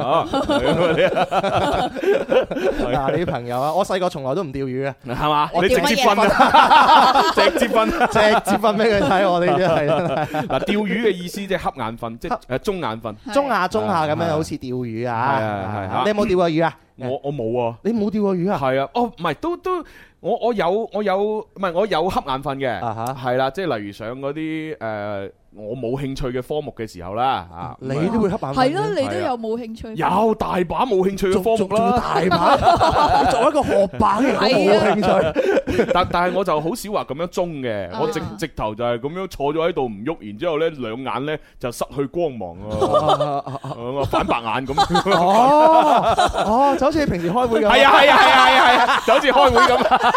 嗱，你啲朋友啊，我細個從來都唔釣魚嘅， 係嘛？你直接瞓，直接瞓， 直接瞓俾佢睇，我哋真係。 嗱，釣魚嘅意思即係瞌眼瞓，即係誒中眼瞓， 中下中下咁樣，好似釣魚啊！ 係係係， 你有冇釣過魚啊？ 我我冇啊！ 你冇釣過魚啊？ 係啊，哦，唔係都都。我我有我有唔係我有瞌眼瞓嘅，係啦，即係例如上嗰啲誒我冇興趣嘅科目嘅時候啦，啊， 你都會瞌眼瞓？ 係咯，你都有冇興趣？ 有大把冇興趣嘅科目啦， 大把。你作為一個學霸，你冇興趣。 但但係我就好少話咁樣中嘅，我直直頭就係咁樣坐咗喺度唔喐，然之後咧兩眼咧就失去光芒啊，反白眼咁。 哦哦，就好似你平時開會咁。 係啊係啊係啊係啊，就好似開會咁。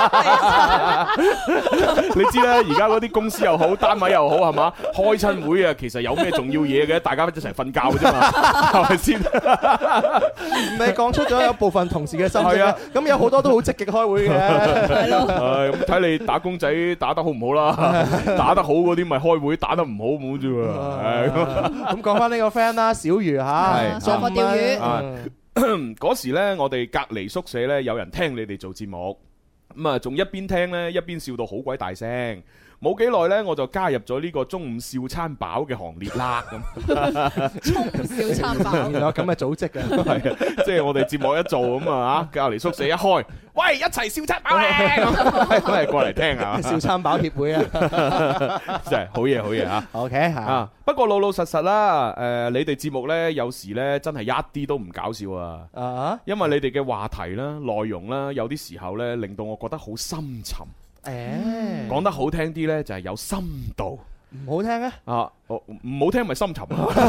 你知啦，而家嗰啲公司又好，單位又好，係嘛？開親會啊，其實有咩重要嘢嘅？大家一齊瞓覺嘅啫嘛，係咪先？ 你講出咗有部分同事嘅心聲啊！咁有好多都好積極開會嘅。係咯。 誒，咁睇你打工仔打得好唔好啦？打得好嗰啲咪開會，打得唔好冇啫喎。 咁講翻呢個 friend 啦，小魚嚇， 上課釣魚。 嗰時咧，我哋隔離宿舍咧有人聽你哋做節目。咁啊，仲一邊聽咧，一邊笑到好鬼大聲。冇幾耐咧，我就加入咗呢個中午笑餐飽嘅行列啦。咁中午笑餐飽， 原來有咁嘅組織嘅， 係啊，即係我哋節目一做咁啊，隔離宿舍一開，喂，一齊笑餐飽咧，都係過嚟聽啊！ 笑餐飽協會啊， 真係好嘢，好嘢嚇。 OK 嚇啊，不過老老實實啦，誒，你哋節目咧有時咧真係一啲都唔搞笑啊！啊，因為你哋嘅話題啦、內容啦，有啲時候咧令到我覺得好深沉。誒，講得好聽啲呢，就係有深度； 唔好聽咧， 啊，唔好聽咪深沉。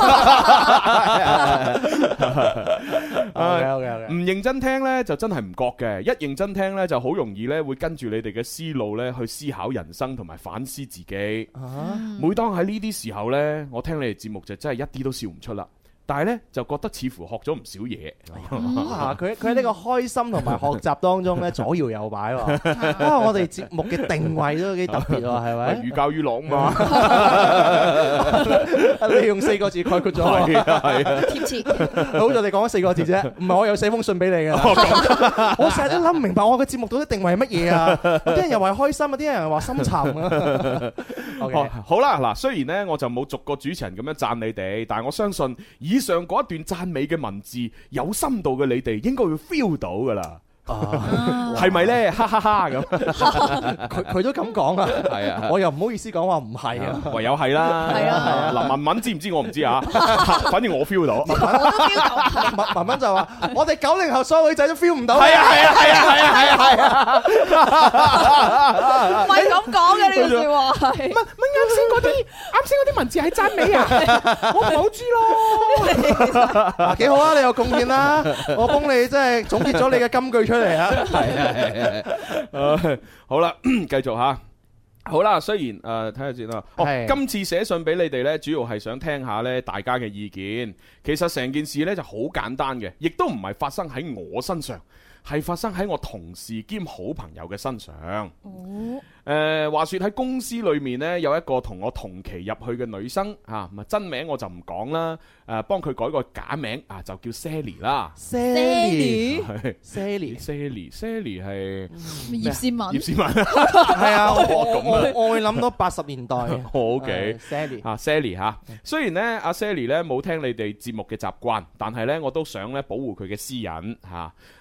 唔認真聽呢，就真係唔覺嘅；一認真聽呢，就好容易呢會跟住你哋嘅思路呢去思考人生同埋反思自己。啊，每當喺呢啲時候呢，我聽你哋節目就真係一啲都笑唔出啦。但係咧，就覺得似乎學咗唔少嘢。 啊，佢佢喺呢個開心同埋學習當中咧，左搖右擺喎。啊，我哋節目嘅定位都幾特別喎，係咪？ 寓教於樂嘛。 你用四個字概括咗，係啊，係啊，貼切。好在你講咗四個字啫，唔係我有寫封信俾你嘅。我成日都諗唔明白，我嘅節目到底定位係乜嘢啊？有啲人又話開心，有啲人又話深沉啊。 Okay. 好啦，嗱，雖然咧我就冇逐個主持人咁樣讚你哋，但係我相信以上嗰一段讚美嘅文字，有深度嘅你哋應該會 feel 到噶啦。係咪咧？哈哈哈咁， 佢佢都咁講啊。係啊，我又唔好意思講話唔係啊， 唯有係啦。係啊，嗱，文文知唔知我唔知啊？反正我 feel 到。我都 feel 到。 文文文就話：我哋九零後所有女仔都 feel 唔到。 係啊係啊係啊係啊係啊係啊！ 唔係咁講嘅呢句説話係。 乜乜啱先嗰啲啱先嗰啲文字係讚美啊？我唔係好知咯。 嗱，幾好啊！你有貢獻啦，我幫你即係總結咗你嘅金句出嚟。係啊係啊係啊！好啦，繼續吓。好啦，雖然誒睇下先啦。哦，今次寫信俾你哋呢，主要係想聽下呢大家嘅意見。其實成件事呢就好簡單嘅，亦都唔係發生喺我身上，係發生喺我同事兼好朋友嘅身上。哦。誒、呃，話說喺公司裏面呢，有一個同我同期入去嘅女生啊，咁真名我就唔講啦。誒、啊，幫佢改個假名啊，就叫 Sally 啦。Sally，Sally，Sally，Sally 係葉倩文。 葉倩文係啊，我我我會諗到八十年代。 O K，Sally 啊 ，Sally 吓。雖然呢，阿、啊、Sally 呢冇聽你哋節目嘅習慣，但係呢，我都想咧保護佢嘅私隱吓。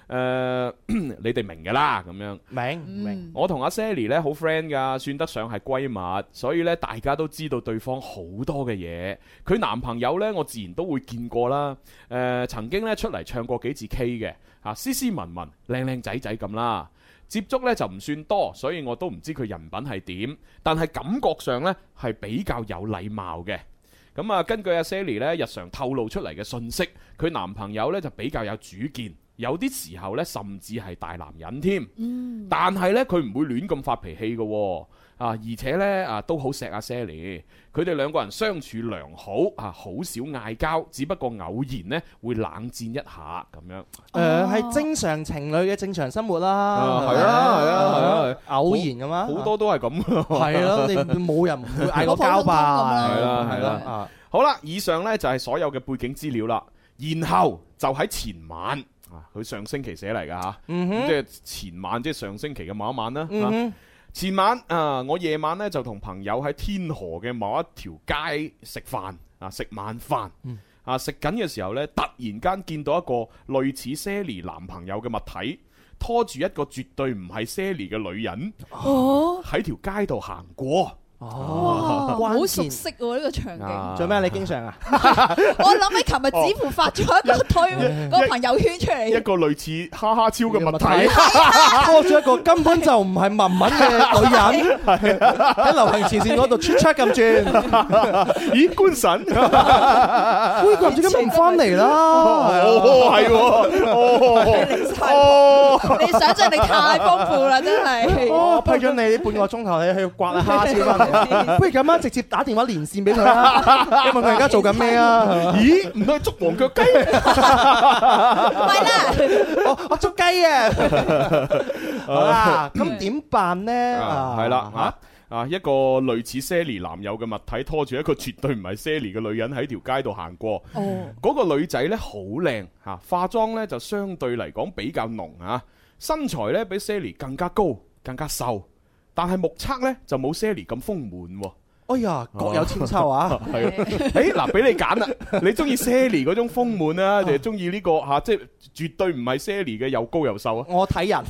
誒，你哋明㗎啦，咁樣明明。 我同阿 Sally 咧好 friend 㗎，算得上係閨蜜，所以咧大家都知道對方好多嘅嘢。佢男朋友咧，我自然都會見過啦。誒，曾經咧出嚟唱過幾次 K 嘅，啊，斯斯文文、靚靚仔仔咁啦。接觸咧就唔算多，所以我都唔知佢人品係點，但係感覺上咧係比較有禮貌嘅。咁啊，根據阿 Sally 咧日常透露出嚟嘅信息，佢男朋友咧就比較有主見。有啲時候咧，甚至係大男人添。嗯、但係咧，佢唔會亂咁發脾氣嘅喎。啊，而且咧啊，都好錫阿 Sally。佢哋兩個人相處良好，啊，好少嗌交，只不過偶然咧會冷戰一下咁樣。誒、 呃，係正常情侶嘅正常生活啦。 係啊，係啊，係啊， 偶然㗎嘛。 好多都係咁。 係咯，你冇人唔會嗌過交吧？ 係啦，係啦。啊，好啦，以上咧就係所有嘅背景資料啦。然後就喺前晚。啊！佢上星期寫嚟噶吓，嗯、哼即係前晚，即係上星期嘅某一晚啦。嗯、哼前晚啊，我夜晚咧就同朋友喺天河嘅某一條街食飯啊，食晚飯。嗯、啊，食緊嘅時候咧，突然間見到一個類似 Sally 男朋友嘅物體，拖住一個絕對唔係 Sally 嘅女人，哦，喺條街度行過。 哦，好熟悉喎呢個場景。 做咩？你經常啊？ 我諗起琴日子父發咗一個推個朋友圈出嚟， 一個類似哈哈超嘅物體， 拖住一個根本就唔係文文嘅女人，喺流行前線嗰度出出咁轉。 咦，官神？ 喂，佢唔知點唔翻嚟啦？ 哦，係喎， 哦，你想象力太豐富啦，真係。 我批准你半個鐘頭，你去刮下蝦超翻嚟。不如咁樣直接打電話連線俾佢啦，問佢而家做緊咩啊？ 咦，唔係捉黃腳雞？ 係啦， 我我捉雞啊！好啦，咁點辦呢？ 係啦嚇啊！一個類似 Sally 男友嘅物體拖住一個絕對唔係 Sally 嘅女人喺條街度行過。哦，嗰個女仔呢好靚嚇，化妝呢就相對嚟講比較濃嚇，身材呢比 Sally 更加高、更加瘦。但係目測咧就冇 Sally 咁豐滿喎。 哎呀，各有千秋啊！ 係啊，誒嗱，俾你揀啦，你中意 Sally 嗰種豐滿啊，定係中意呢個嚇，即係絕對唔係 Sally 嘅又高又瘦啊？ 我睇人，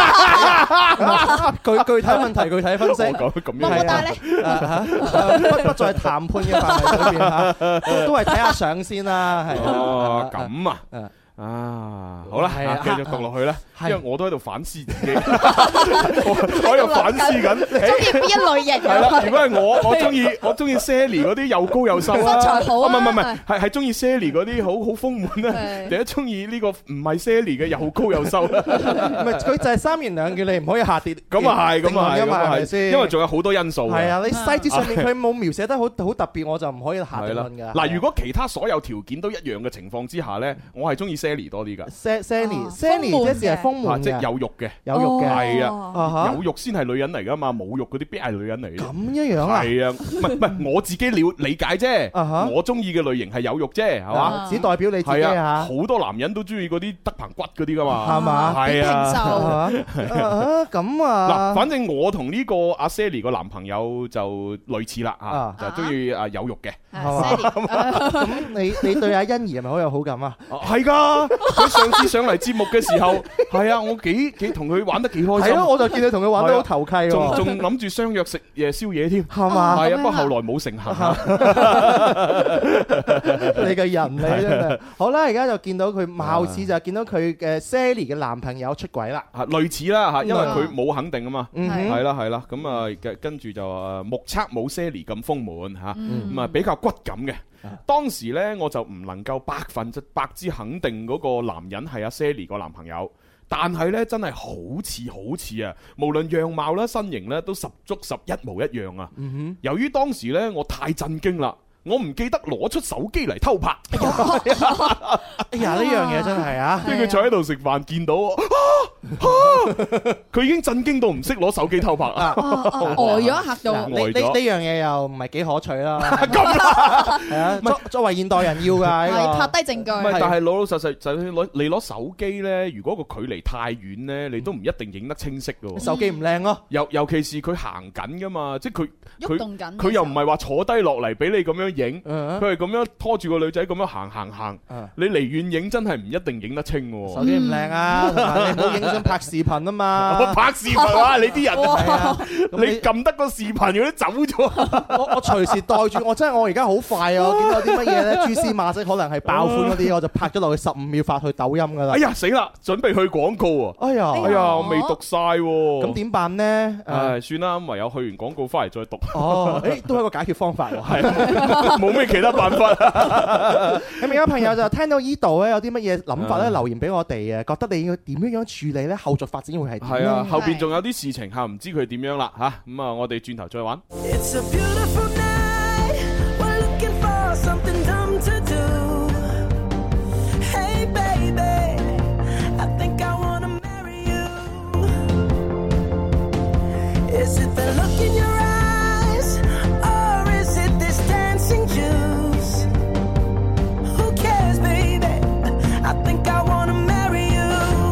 具具體問題具體分析。 咁咁樣係啊， 不不在談判嘅範圍裏邊嚇，都係睇下相先啦，係啊。咁啊。啊，好啦，啊，繼續讀落去啦，因為我都喺度反思自己，我喺度反思緊， 中意邊一類型？ 係啦，如果係我，我中意我中意 Sally 嗰啲又高又瘦啦， 身材好啊， 唔係唔係，係係中意 Sally 嗰啲好好豐滿啦，定係中意呢個唔係 Sally 嘅又高又瘦啦？ 唔係，佢就係三言兩語，你唔可以下跌。 咁啊係，咁啊係， 係咪先？ 因為仲有好多因素。 係啊，你細節上面佢冇描寫得好好特別，我就唔可以下定論㗎。 嗱，如果其他所有條件都一樣嘅情況之下咧，我係中意 Sally 多啲㗎。 Sally，Sally 即係豐滿嘅， 即係有肉嘅， 有肉嘅， 係啊，有肉先係女人嚟噶嘛，冇肉嗰啲邊係女人嚟嘅？ 咁一樣啊？ 係啊，唔係唔係，我自己了理解啫，我中意嘅類型係有肉啫，係嘛？ 只代表你自己啊！ 好多男人都中意嗰啲得棚骨嗰啲噶嘛， 係嘛？ 係啊， 咁啊， 嗱，反正我同呢個阿 Sally 個男朋友就類似啦，啊，就中意啊有肉嘅， 係嘛？咁你你對阿欣宜係咪好有好感啊？ 係噶，佢上次上嚟節目嘅時候，係啊，我幾幾同佢玩得幾開心。 係咯，我就見你同佢玩得好投契喎。 仲仲諗住相約食夜宵夜添， 係嘛？ 係啊，不過後來冇成行。 你嘅人你真係好啦，而家就見到佢貌似就見到佢嘅 Sally 嘅男朋友出軌啦。 啊，類似啦嚇，因為佢冇肯定啊嘛。係啦係啦，咁啊跟住就誒目測冇 Sally 咁豐滿嚇，咁啊比較骨感嘅。當時呢，我就唔能夠百分之百之肯定嗰個男人係阿 Sally 個男朋友，但係呢，真係好似好似啊，無論樣貌啦、身形呢，都十足十一模一樣啊。嗯、哼由於當時呢，我太震驚啦。我唔記得攞出手機嚟偷拍。 哎呀，呢樣嘢真係啊！ 跟住佢坐喺度食飯，見到佢已經震驚到唔識攞手機偷拍啊！ 呆咗嚇到， 呢呢樣嘢又唔係幾可取啦。咁係啊，作作為現代人要㗎， 係拍低證據。 唔係，但係老老實實就算攞你攞手機咧，如果個距離太遠咧，你都唔一定影得清晰㗎。 手機唔靚咯， 尤尤其是佢行緊㗎嘛，即係佢喐動緊， 佢又唔係話坐低落嚟俾你咁樣影，佢係咁樣拖住個女仔咁樣行行行，你離遠影真係唔一定影得清喎。 手機唔靚啊，同埋你唔好影相拍視頻啊嘛。 我拍視頻啊，你啲人，你撳得個視頻佢都走咗。 我我隨時袋住，我真係我而家好快啊！我見到啲乜嘢咧，蛛絲馬跡可能係爆款嗰啲，我就拍咗落去十五秒發去抖音噶啦。 哎呀死啦，準備去廣告啊！ 哎呀， 哎呀，我未讀晒喎。 咁點辦呢？ 唉，算啦，唯有去完廣告翻嚟再讀。 哦，誒，都係一個解決方法喎。 係，冇咩其他辦法。 咁而家朋友就聽到依度咧，有啲乜嘢諗法咧，留言俾我哋啊！覺得你要點樣樣處理咧？後續發展會係點？ 係啊，後邊仲有啲事情嚇，唔知佢點樣啦嚇。咁啊，我哋轉頭再玩。 It's a beautiful night. We're looking for something dumb to do. Hey baby, I think I wanna marry you. Is it the look in your eyes, or is it this dancing juice? Who cares, baby? I think I wanna marry you.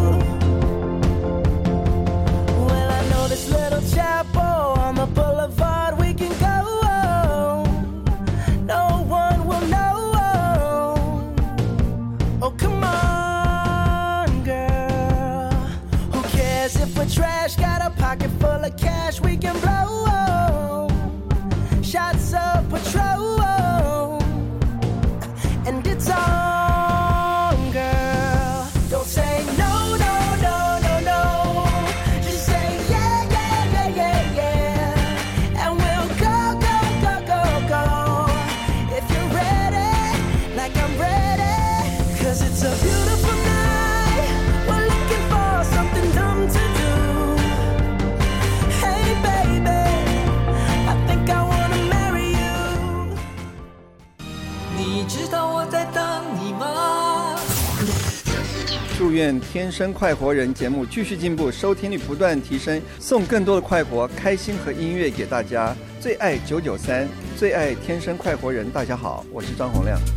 Well, I know this little chapel on the boulevard we can go. No one will know. Oh, come on, girl. Who cares if we're trash? Got a pocket full of cash we can blow. Shots of Patrol, and it's on, girl. Don't say no, no, no, no, no. Just say yeah, yeah, yeah, yeah, yeah. And we'll go, go, go, go, go. If you're ready, like I'm ready. 'Cause it's a beautiful night. We're looking for something dumb to do. Hey baby, I think I wanna marry you. 你知道我在等你吗？ 祝愿《天生快活人》节目继续进步，收听率不断提升，送更多的快活、开心和音乐给大家。最爱九九三，最爱《天生快活人》。大家好，我是張洪亮。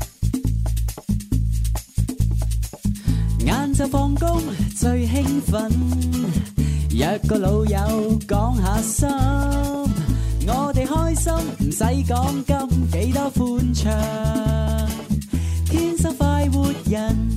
晏晝放工最興奮，約個老友講下心，我哋開心唔使講金，幾多歡暢，天生快活人。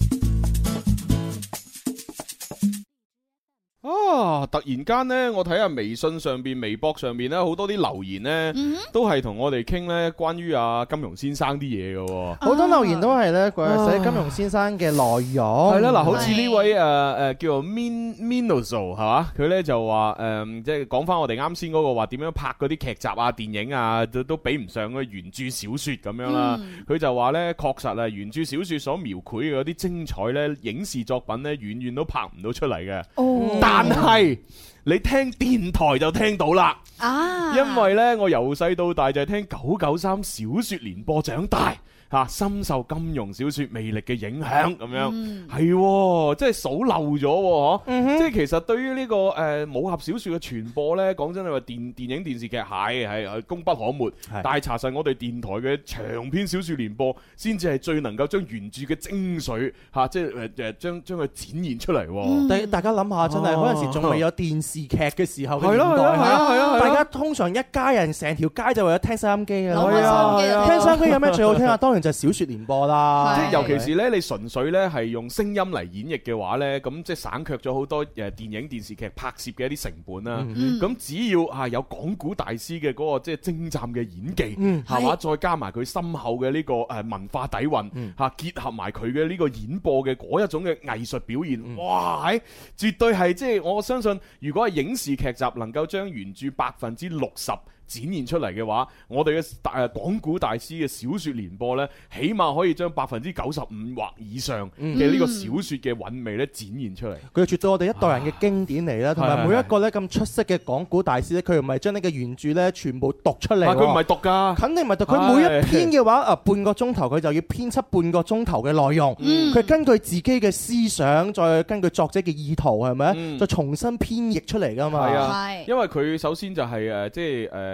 啊！突然間呢，我睇下微信上邊、微博上邊咧，好多啲留言呢， 嗯都係同我哋傾呢關於阿金庸先生啲嘢嘅喎。 好多留言都係咧，佢寫金庸先生嘅內容。 係啦，嗱，好似呢位誒誒叫做 Min Minoso 係嘛，佢咧就話誒，即係講翻我哋啱先嗰個話點樣拍嗰啲劇集啊、電影啊，都都比唔上嗰原著小説咁樣啦。佢就話咧，確實啊，原著小説所描繪嘅嗰啲精彩咧，影視作品咧，遠遠都拍唔到出嚟嘅。 哦， 但係你聽電台就聽到啦， 啊， 因為呢，我由細到大就係聽九九三小說連播長大。嚇，深受金庸小説魅力嘅影響咁樣，係喎，即係數漏咗喎，嗬！即係其實對於呢個誒武俠小説嘅傳播呢，講真係話電電影電視劇係係係功不可沒，但係查實我哋電台嘅長篇小説連播，先至係最能夠將原著嘅精髓嚇，即係誒誒將將佢展現出嚟。 大大家諗下，真係嗰陣時仲未有電視劇嘅時候嘅年代， 係啊係啊， 大家通常一家人成條街就為咗聽收音機嘅， 攞收音機， 聽收音機有咩最好聽啊？當然就係小説連播啦， 即係尤其是咧，你純粹咧係用聲音嚟演繹嘅話咧，咁即係省卻咗好多誒電影電視劇拍攝嘅一啲成本啦。咁只要啊有講古大師嘅嗰個即係精湛嘅演技，係嘛，再加埋佢深厚嘅呢個誒文化底蘊嚇，結合埋佢嘅呢個演播嘅嗰一種嘅藝術表現，哇！係絕對係即係我相信，如果係影視劇集能夠將原著百分之六十展現出嚟嘅話，我哋嘅誒講古大師嘅小説連播呢，起碼可以將百分之九十五或以上嘅呢個小説嘅韻味咧展現出嚟。 佢絕對我哋一代人嘅經典嚟啦，同埋每一個咧咁出色嘅講古大師咧，佢唔係將呢個原著咧全部讀出嚟， 佢唔係讀㗎， 肯定唔係讀。佢每一篇嘅話啊，半個鐘頭佢就要編輯半個鐘頭嘅內容，佢根據自己嘅思想，再根據作者嘅意圖係咪？再重新編譯出嚟㗎嘛。 係啊，因為佢首先就係誒即係誒。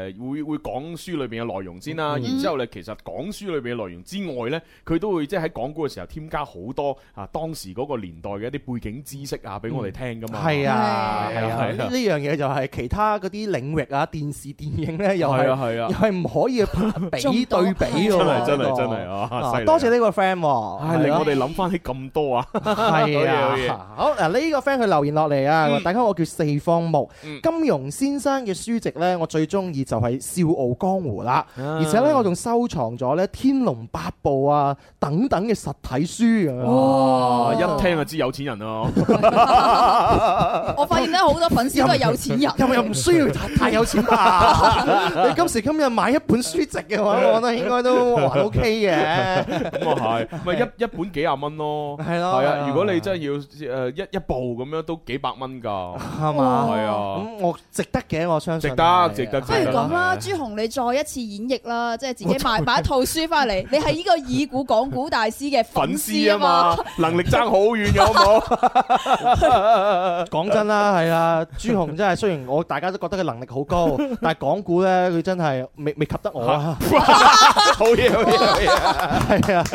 會會講書裏邊嘅內容先啦，然之後咧其實講書裏邊嘅內容之外咧，佢都會即係喺講古嘅時候添加好多啊當時嗰個年代嘅一啲背景知識啊，俾我哋聽噶嘛。 係啊係啊，呢呢樣嘢就係其他嗰啲領域啊，電視電影咧又係又係唔可以比對比㗎喎。 真係真係真係啊！ 多謝呢個 friend 喎， 唉令我哋諗翻起咁多啊。 係啊，好嗱呢個 friend 佢留言落嚟啊，大家我叫四方木，金庸先生嘅書籍咧，我最中意就係《笑傲江湖》啦，而且咧我仲收藏咗咧《天龍八部》啊等等嘅實體書啊。 哇！一聽就知有錢人咯。 我發現咧好多粉絲都係有錢人， 又又唔需要太有錢吧？你今時今日買一本書籍嘅話，我覺得應該都還 OK 嘅。 咁啊係，咪一一本幾廿蚊咯。係咯，係啊。如果你真係要誒一一部咁樣，都幾百蚊㗎。係嘛？係啊。咁我值得嘅，我相信。 值得，值得。 不如咁啦，朱紅你再一次演繹啦，即係自己買買一套書翻嚟，你係呢個已故講古大師嘅粉絲啊嘛， 能力爭好遠嘅好唔好？ 講真啦，係啊，朱紅真係雖然我大家都覺得佢能力好高，但係講古咧佢真係未未及得我啊！ 好嘢好嘢， 係啊，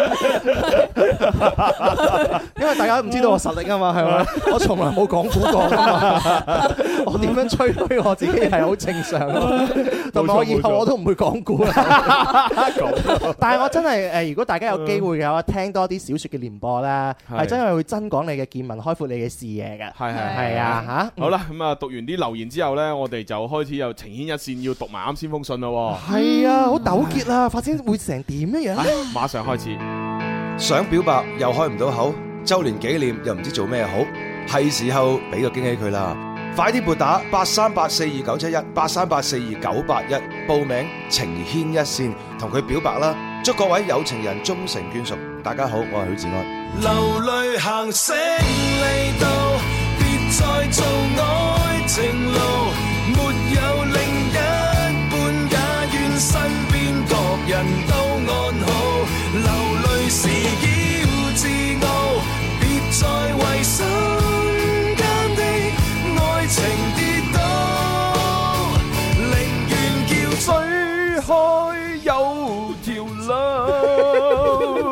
因為大家唔知道我實力啊嘛，係咪？我從來冇講古過啊嘛，我點樣吹噓我自己係好正常咯，同埋我以後我都唔會講古啦。但係我真係誒，如果大家有機會嘅話，聽多啲小説嘅連播咧，係真係會增廣你嘅見聞，開闊你嘅視野嘅。係係係啊嚇！ 好啦，咁啊讀完啲留言之後咧，我哋就開始有情牽一線，要讀埋啱先封信咯。 係啊，好糾結啊！發展會成點樣樣？ 馬上開始。 想表白又開唔到口，週年紀念又唔知做咩好，係時候俾個驚喜佢啦！快啲撥打八三八四二九七一八三八四二九八一報名情牽一線，同佢表白啦！祝各位有情人終成眷屬。大家好，我係許志安。 流淚行勝利道，別再做愛情路，沒有另一半，也願身邊各人都安好。流淚時要自傲，別再為身間的愛情跌倒，寧願叫追開有條路。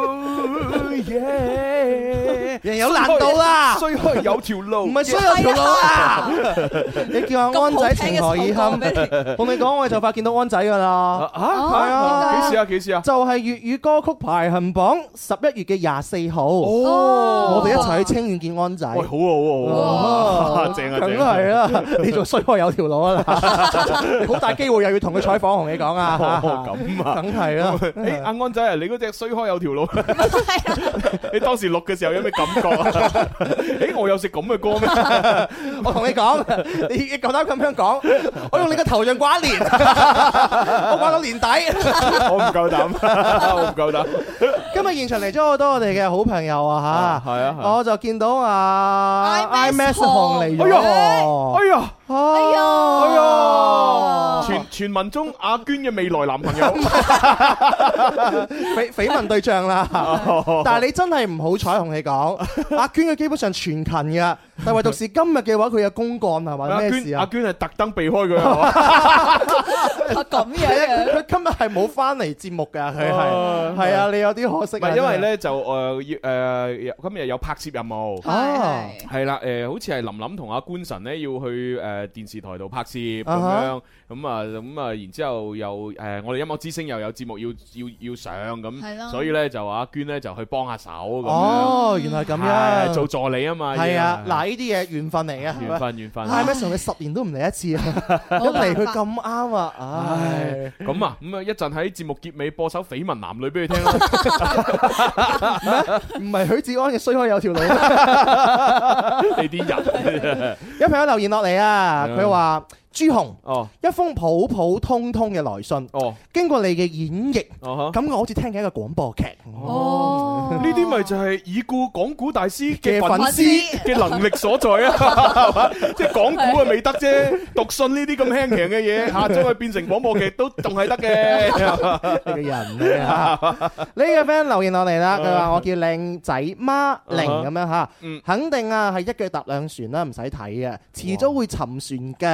人有難度啦， 衰開有條路， 唔係衰有條路啊！你叫阿安仔情何以堪？同你講，我哋就快見到安仔噶啦。 嚇係啊！幾時啊？幾時啊？ 就係粵語歌曲排行榜十一月嘅廿四號。哦，我哋一齊去清遠見安仔。 喂，好啊，好啊，正啊， 梗係啦！你仲衰開有條路啊！好大機會又要同佢採訪，同你講啊！ 咁啊， 梗係啦。 誒，阿安仔啊，你嗰隻衰開有條路，你當時錄嘅時候有咩感覺？誒，我有食咁嘅歌咩？ 我同你講，你你夠膽咁樣講，我用你個頭像掛一年，我掛到年底。 我唔夠膽，我唔夠膽。 今日現場嚟咗好多我哋嘅好朋友啊嚇， 係啊， 我就見到啊 I M S 紅嚟咗， 哎呀， 哎呀， 哎呀，傳傳聞中阿娟嘅未來男朋友， 緋緋聞對象啦。但係你真係唔好彩，同你講，阿娟佢基本上全勤嘅，但係唯獨是今日嘅話，佢有公幹係嘛？咩事啊？ 阿娟係特登避開佢係嘛？ 咁樣， 佢今日係冇翻嚟節目㗎，佢係係啊，你有啲可惜。 唔係因為咧就誒要誒今日有拍攝任務，係係啦誒，好似係林林同阿官神咧要去誒電視台度拍攝咁樣，咁啊咁啊，然之後又誒我哋音樂之星又有節目要要要上咁，所以咧就阿娟咧就去幫下手咁樣。 哦，原來咁樣， 做助理啊嘛。 係啊，嗱呢啲嘢緣分嚟嘅， 緣分緣分。 係咩？同你十年都唔嚟一次啊！一嚟佢咁啱啊！唉， 咁啊咁啊，一陣喺節目結尾播首《緋聞男女》俾佢聽啦。 唔係許志安嘅衰開有條路。 你啲人， 有朋友留言落嚟啊，佢話。朱紅， 哦， 一封普普通通嘅來信， 哦， 經過你嘅演繹， 哦， 咁我好似聽緊一個廣播劇， 哦，呢啲咪就係已故講古大師嘅粉絲嘅能力所在啊，即係講古啊未得啫，讀信呢啲咁輕鬆嘅嘢，嚇將佢變成廣播劇都仲係得嘅， 你個人啊，呢個 friend 留言落嚟啦，佢話我叫靚仔媽玲咁樣嚇，肯定啊係一腳踏兩船啦，唔使睇嘅，遲早會沉船嘅咁啊。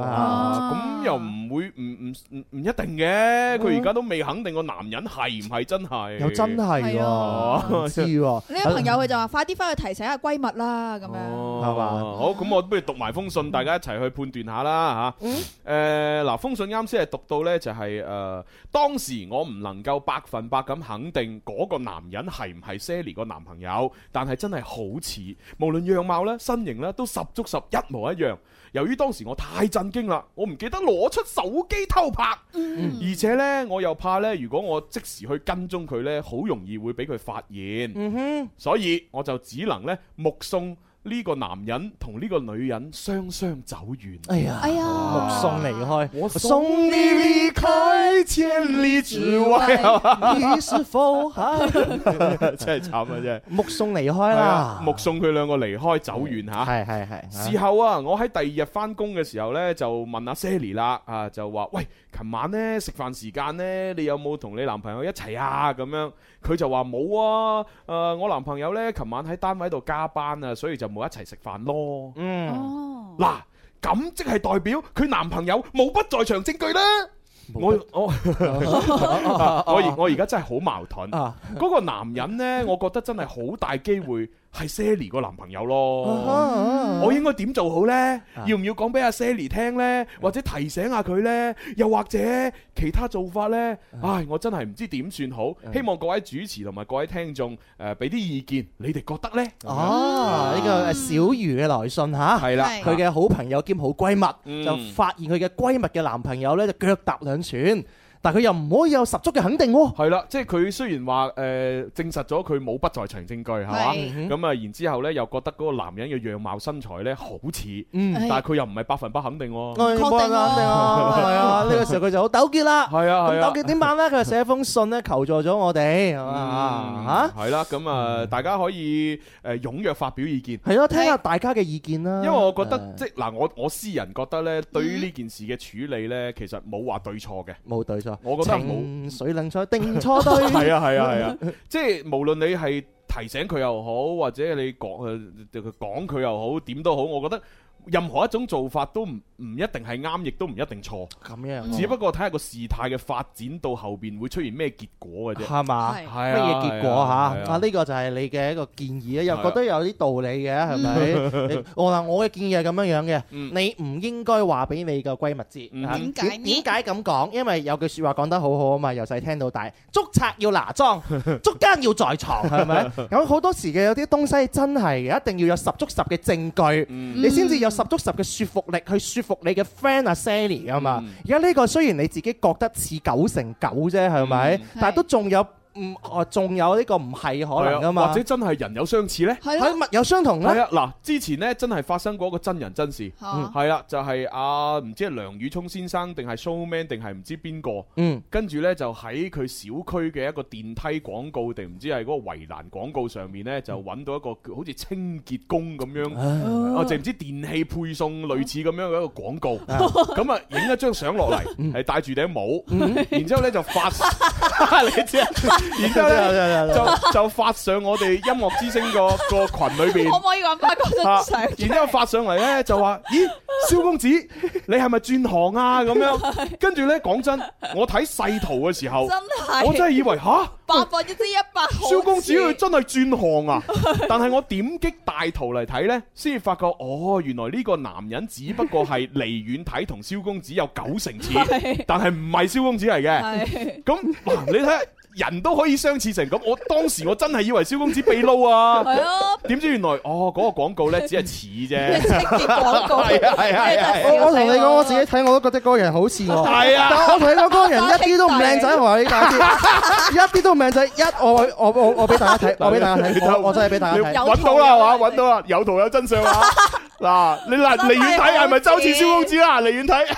啊，咁又唔會唔唔唔唔一定嘅，佢而家都未肯定個男人係唔係真係。 又真係喎，唔知喎。 呢個朋友佢就話：快啲翻去提醒下閨蜜啦，咁樣係嘛？好，咁我不如讀埋封信，大家一齊去判斷下啦嚇。誒嗱，封信啱先係讀到呢，就係誒當時我唔能夠百分百咁肯定嗰個男人係唔係 Sally 個男朋友，但係真係好似，無論樣貌咧、身形咧，都十足十一模一樣。由於當時我太震驚啦，我唔記得攞出手機偷拍，嗯、而且呢，我又怕呢，如果我即時去跟蹤佢呢，好容易會俾佢發現，嗯、哼所以我就只能呢目送呢個男人同呢個女人雙雙走遠。哎呀，哎呀， 目送離開， 我送你離開千里之外， 你是否還真係慘啊！真係目送離開啦， 目送佢兩個離開走遠吓。係係係。事後啊，我喺第二日翻工嘅時候呢，就問阿 Sally 啦，啊就話喂，琴晚呢食飯時間呢，你有冇同你男朋友一齊啊？咁樣佢就話冇啊，誒、呃、我男朋友呢，琴晚喺單位度加班啊，所以就冇一齊食飯咯。嗯，嗱，咁即係代表佢男朋友冇不在場證據啦。我我我而我而家真係好矛盾。嗰個男人呢，我覺得真係好大機會係 Sally 個男朋友咯。我應該點做好呢？要唔要講俾阿 Sally 聽呢？或者提醒下佢呢？又或者其他做法呢？唉，我真係唔知點算好。希望各位主持同埋各位聽眾誒俾啲意見，你哋覺得呢？ 哦，呢個小魚嘅來信嚇，係啦，佢嘅好朋友兼好閨蜜就發現佢嘅閨蜜嘅男朋友呢，就腳踏兩船。但佢又唔可以有十足嘅肯定喎。係啦，即係佢雖然話誒、呃、證實咗佢冇不在場證據係嘛，咁啊然之後咧又覺得嗰個男人嘅樣貌身材咧好似，嗯、但係佢又唔係百分百肯定喎。確定啊，肯定啊，係啊，呢個時候佢就好糾結啦。係啊係啊，糾結點辦咧？佢就寫封信咧求助咗我哋係嘛嚇。係啦，咁啊大家可以誒踴躍發表意見。係咯，聽下大家嘅意見啦。因為我覺得即係嗱，我我私人覺得咧，對於呢件事嘅處理咧，其實冇話對錯嘅，冇對錯。我覺得冇水冷菜定錯對，係啊係啊係啊，即係無論你係提醒佢又好，或者你講誒講佢又好，點都好，我覺得任何一種做法都唔唔一定係啱，亦都唔一定錯。咁樣，只不過睇下個事態嘅發展到後邊會出現咩結果嘅啫。係嘛？係乜嘢結果嚇？啊呢個就係你嘅一個建議啊，又覺得有啲道理嘅，係咪？我話我嘅建議係咁樣樣嘅，你唔應該話俾你個閨蜜知。點解？點解咁講？因為有句説話講得好好啊嘛，由細聽到大，捉賊要拿贓，捉奸要在床，係咪？咁好多時嘅有啲東西真係嘅，一定要有十足十嘅證據，你先至有十足十嘅說服力去説服你嘅 friend 阿 Sally 啊嘛，而家呢個雖然你自己覺得似九成九啫，係咪？但係都仲有。唔，哦，仲有呢個唔係可能噶嘛？或者真係人有相似咧？係物有相同咧？係啊，嗱，之前咧真係發生過一個真人真事，係啦，就係阿唔知係梁宇聰先生定係 Showman 定係唔知邊個，嗯，跟住咧就喺佢小區嘅一個電梯廣告定唔知係嗰個圍欄廣告上面咧，就揾到一個好似清潔工咁樣，哦，定唔知電器配送類似咁樣嘅一個廣告，咁啊影一張相落嚟，係戴住頂帽，然之後咧就發，你知啊？然之後咧就就發上我哋音樂之聲個個群裏邊，可唔可以揾翻嗰張相？然之後發上嚟咧就話：咦，蕭公子，你係咪轉行啊？咁樣，跟住咧講真，我睇細圖嘅時候，真係我真係以為吓百分之一百，蕭公子佢真係轉行啊！但係我點擊大圖嚟睇咧，先至發覺哦，原來呢個男人只不過係離遠睇同蕭公子有九成似，但係唔係蕭公子嚟嘅。咁嗱，你睇。人都可以相似成咁，我當時我真係以為蕭公子被撈啊！係啊，點知原來哦嗰個廣告咧只係似啫，清潔廣告係啊係啊係啊！我我同你講，我自己睇我都覺得嗰個人好似我，係啊！但我同你講嗰個人一啲都唔靚仔，我話你大啲，一啲都唔靚仔，一我我我我俾大家睇，我俾大家睇，我真係俾大家睇，揾到啦係嘛？揾到啦，有圖有真相啊！嗱，你嗱離遠睇係咪周似蕭公子啦？離遠睇，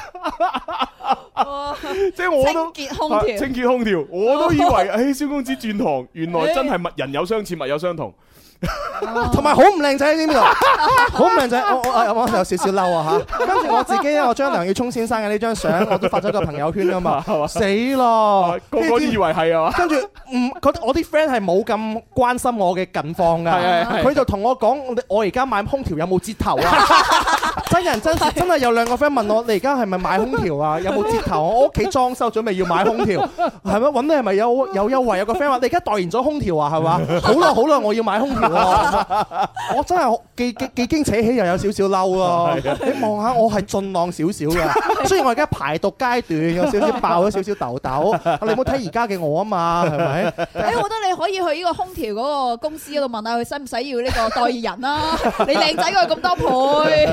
即係我都清潔空調，清潔空調，我都以為。誒，蕭公子轉行，原來真係物人有相似，物有相同。 同埋好唔靚仔呢邊度，好唔靚仔，我我我有少少嬲啊嚇！跟住我自己咧，我將梁耀聰先生嘅呢張相我都發咗個朋友圈啊嘛，死咯！ 個個都以為係啊嘛。 跟住唔覺得我啲 friend 係冇咁關心我嘅近況㗎， 係係係佢就同我講：我而家買空調有冇折頭啊？真人真事，真係有兩個 friend 問我：你而家係咪買空調啊？有冇折頭？我屋企裝修準備要買空調，係咪揾你係咪有有優惠？有個 friend 話：你而家代言咗空調啊？係嘛？好啦好啦，我要買空調啊！我真係幾幾幾經扯起，又有少少嬲啊！你望下我係俊朗少少嘅，雖然我而家排毒階段有少少爆咗少少痘痘，你唔好睇而家嘅我啊嘛，係咪？ 誒，我覺得你可以去呢個空調嗰個公司嗰度問下佢使唔使要呢個代言人啦。你靚仔過佢咁多倍。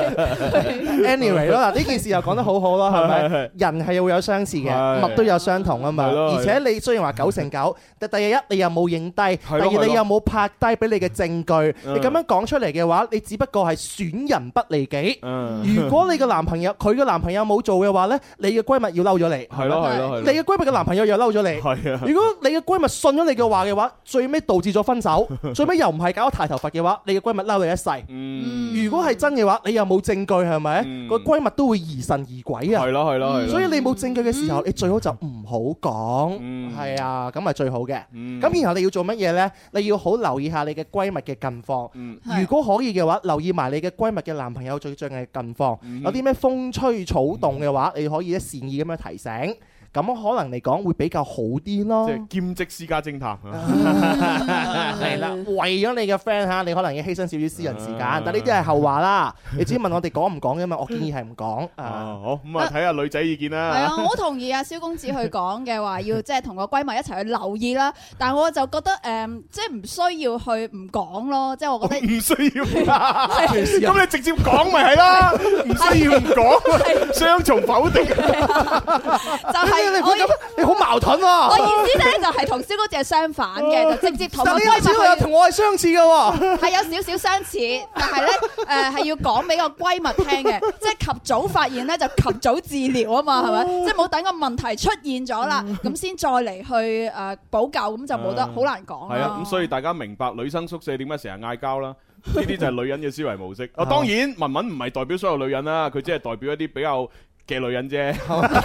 Anyway 咯，嗱呢件事又講得好好啦，係咪？人係會有相似嘅，物都有相同啊嘛。而且你雖然話九成九，但第一你又冇影低，第二你又冇拍低俾你嘅證據，你咁樣講出嚟嘅話，你只不過係損人不利己。如果你嘅男朋友佢嘅男朋友冇做嘅話呢，你嘅閨蜜要嬲咗你。 係咯係咯， 你嘅閨蜜嘅男朋友又嬲咗你。 係啊。 如果你嘅閨蜜信咗你嘅話嘅話，最尾導致咗分手，最尾又唔係搞到太頭髮嘅話，你嘅閨蜜嬲你一世。 嗯。 如果係真嘅話，你又冇證據係咪？個閨蜜都會疑神疑鬼啊。 係咯係咯係咯。 所以你冇證據嘅時候，你最好就唔好講。係啊，咁係最好嘅。咁然後你要做乜嘢呢？你要好留意下你嘅閨蜜嘅近況。如果可以嘅話，留意埋你嘅閨蜜嘅男朋友最近嘅近況。有啲咩風吹草動嘅話，你可以咧善意咁樣提醒。咁可能嚟講會比較好啲咯。 即係兼職私家偵探。 係啦，為咗你嘅 friend 嚇，你可能要犧牲少少私人時間，但呢啲係後話啦。你只問我哋講唔講嘅嘛？我建議係唔講。 啊，好咁啊，睇下女仔意見啦。 係啊，我好同意阿蕭公子去講嘅話，要即係同個閨蜜一齊去留意啦。但係我就覺得誒，即係唔需要去唔講咯。即係我覺得唔需要。咁你直接講咪係啦，唔需要唔講，雙重否定。 就係。 你咁，你好矛盾喎！ 我意思咧就係同蕭公子係相反嘅，就直接同個閨蜜去。 同我係相似嘅喎， 係有少少相似，但係咧誒係要講俾個閨蜜聽嘅，即係及早發現咧就及早治療啊嘛，係咪？即係冇等個問題出現咗啦，咁先再嚟去誒補救，咁就冇得好難講。 係啊，咁所以大家明白女生宿舍點解成日嗌交啦？呢啲就係女人嘅思維模式。啊，當然文文唔係代表所有女人啦，佢只係代表一啲比較嘅女人啫，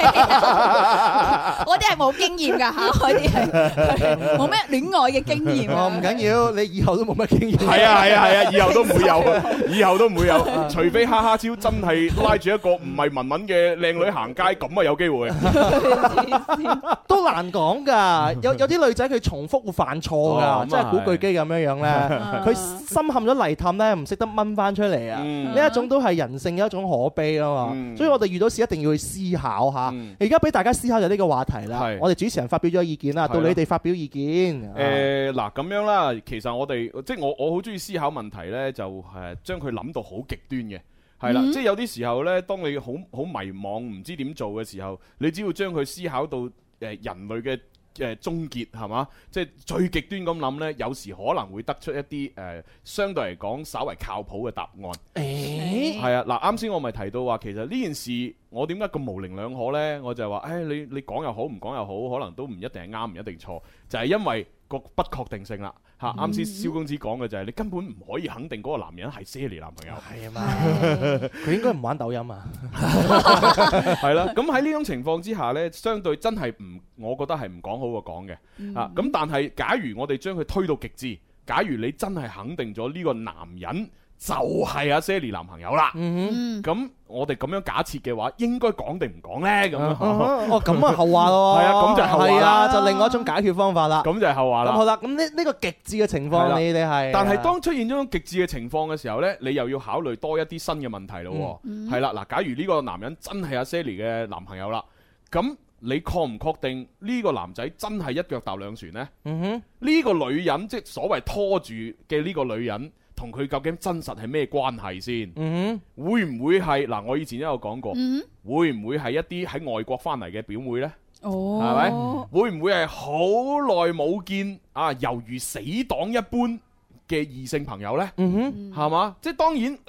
嗰啲係冇經驗㗎嚇，嗰啲係冇咩戀愛嘅經驗。 哦，唔緊要，你以後都冇乜經驗。 係啊係啊係啊，以後都唔會有，以後都唔會有，除非哈哈超真係拉住一個唔係文文嘅靚女行街，咁啊有機會。 都難講㗎，有有啲女仔佢重複會犯錯㗎，即係古巨基咁樣樣咧，佢深陷咗泥氹咧，唔識得掹翻出嚟啊！呢一種都係人性嘅一種可悲啊嘛，所以我哋遇到事一定要去思考下。而家俾大家思考就呢個話題啦。我哋主持人發表咗意見啦，到你哋發表意見。 誒嗱咁樣啦，其實我哋即係我我好中意思考問題呢，就係將佢諗到好極端嘅，係啦。即係有啲時候呢，當你好好迷茫唔知點做嘅時候，你只要將佢思考到誒人類嘅誒終結係嘛，即係最極端咁諗呢，有時可能會得出一啲誒、呃、相對嚟講稍為靠譜嘅答案。誒係啊，嗱啱先我咪提到話，其實呢件事我點解咁模棱兩可呢？我就係話，誒你你講又好，唔講又好，可能都唔一定係啱，唔一定錯，就係、是、因為個不確定性啦。嚇啱先蕭公子講嘅就係你根本唔可以肯定嗰個男人係 Sally 男朋友。係啊嘛， 佢應該唔玩抖音啊。 係啦，咁喺呢種情況之下呢，相對真係唔，我覺得係唔講好過講嘅。嗯、啊，咁但係假如我哋將佢推到極致，假如你真係肯定咗呢個男人就係阿 Sally 男朋友啦，咁、嗯、我哋咁樣假設嘅話，應該講定唔講呢？咁樣、 啊、哦，咁啊後話咯， 係啊，咁就係後話啦， 啊，就另外一種解決方法啦。 咁就係後話啦。咁好啦，咁呢呢個極致嘅情況，你哋係， 但係當出現咗種極致嘅情況嘅時候呢，你又要考慮多一啲新嘅問題咯。係啦、嗯，嗱，假如呢個男人真係阿 Sally 嘅男朋友啦，咁你確唔確定呢個男仔真係一腳踏兩船呢？嗯哼，呢個女人即係所謂拖住嘅呢個女人，同佢究竟真實係咩關係先？嗯哼，會唔會係嗱？我以前都有講過，嗯、會唔會係一啲喺外國翻嚟嘅表妹呢？哦，係咪？會唔會係好耐冇見啊？猶如死黨一般嘅異性朋友呢？嗯哼，係嘛？即係當然誒、呃，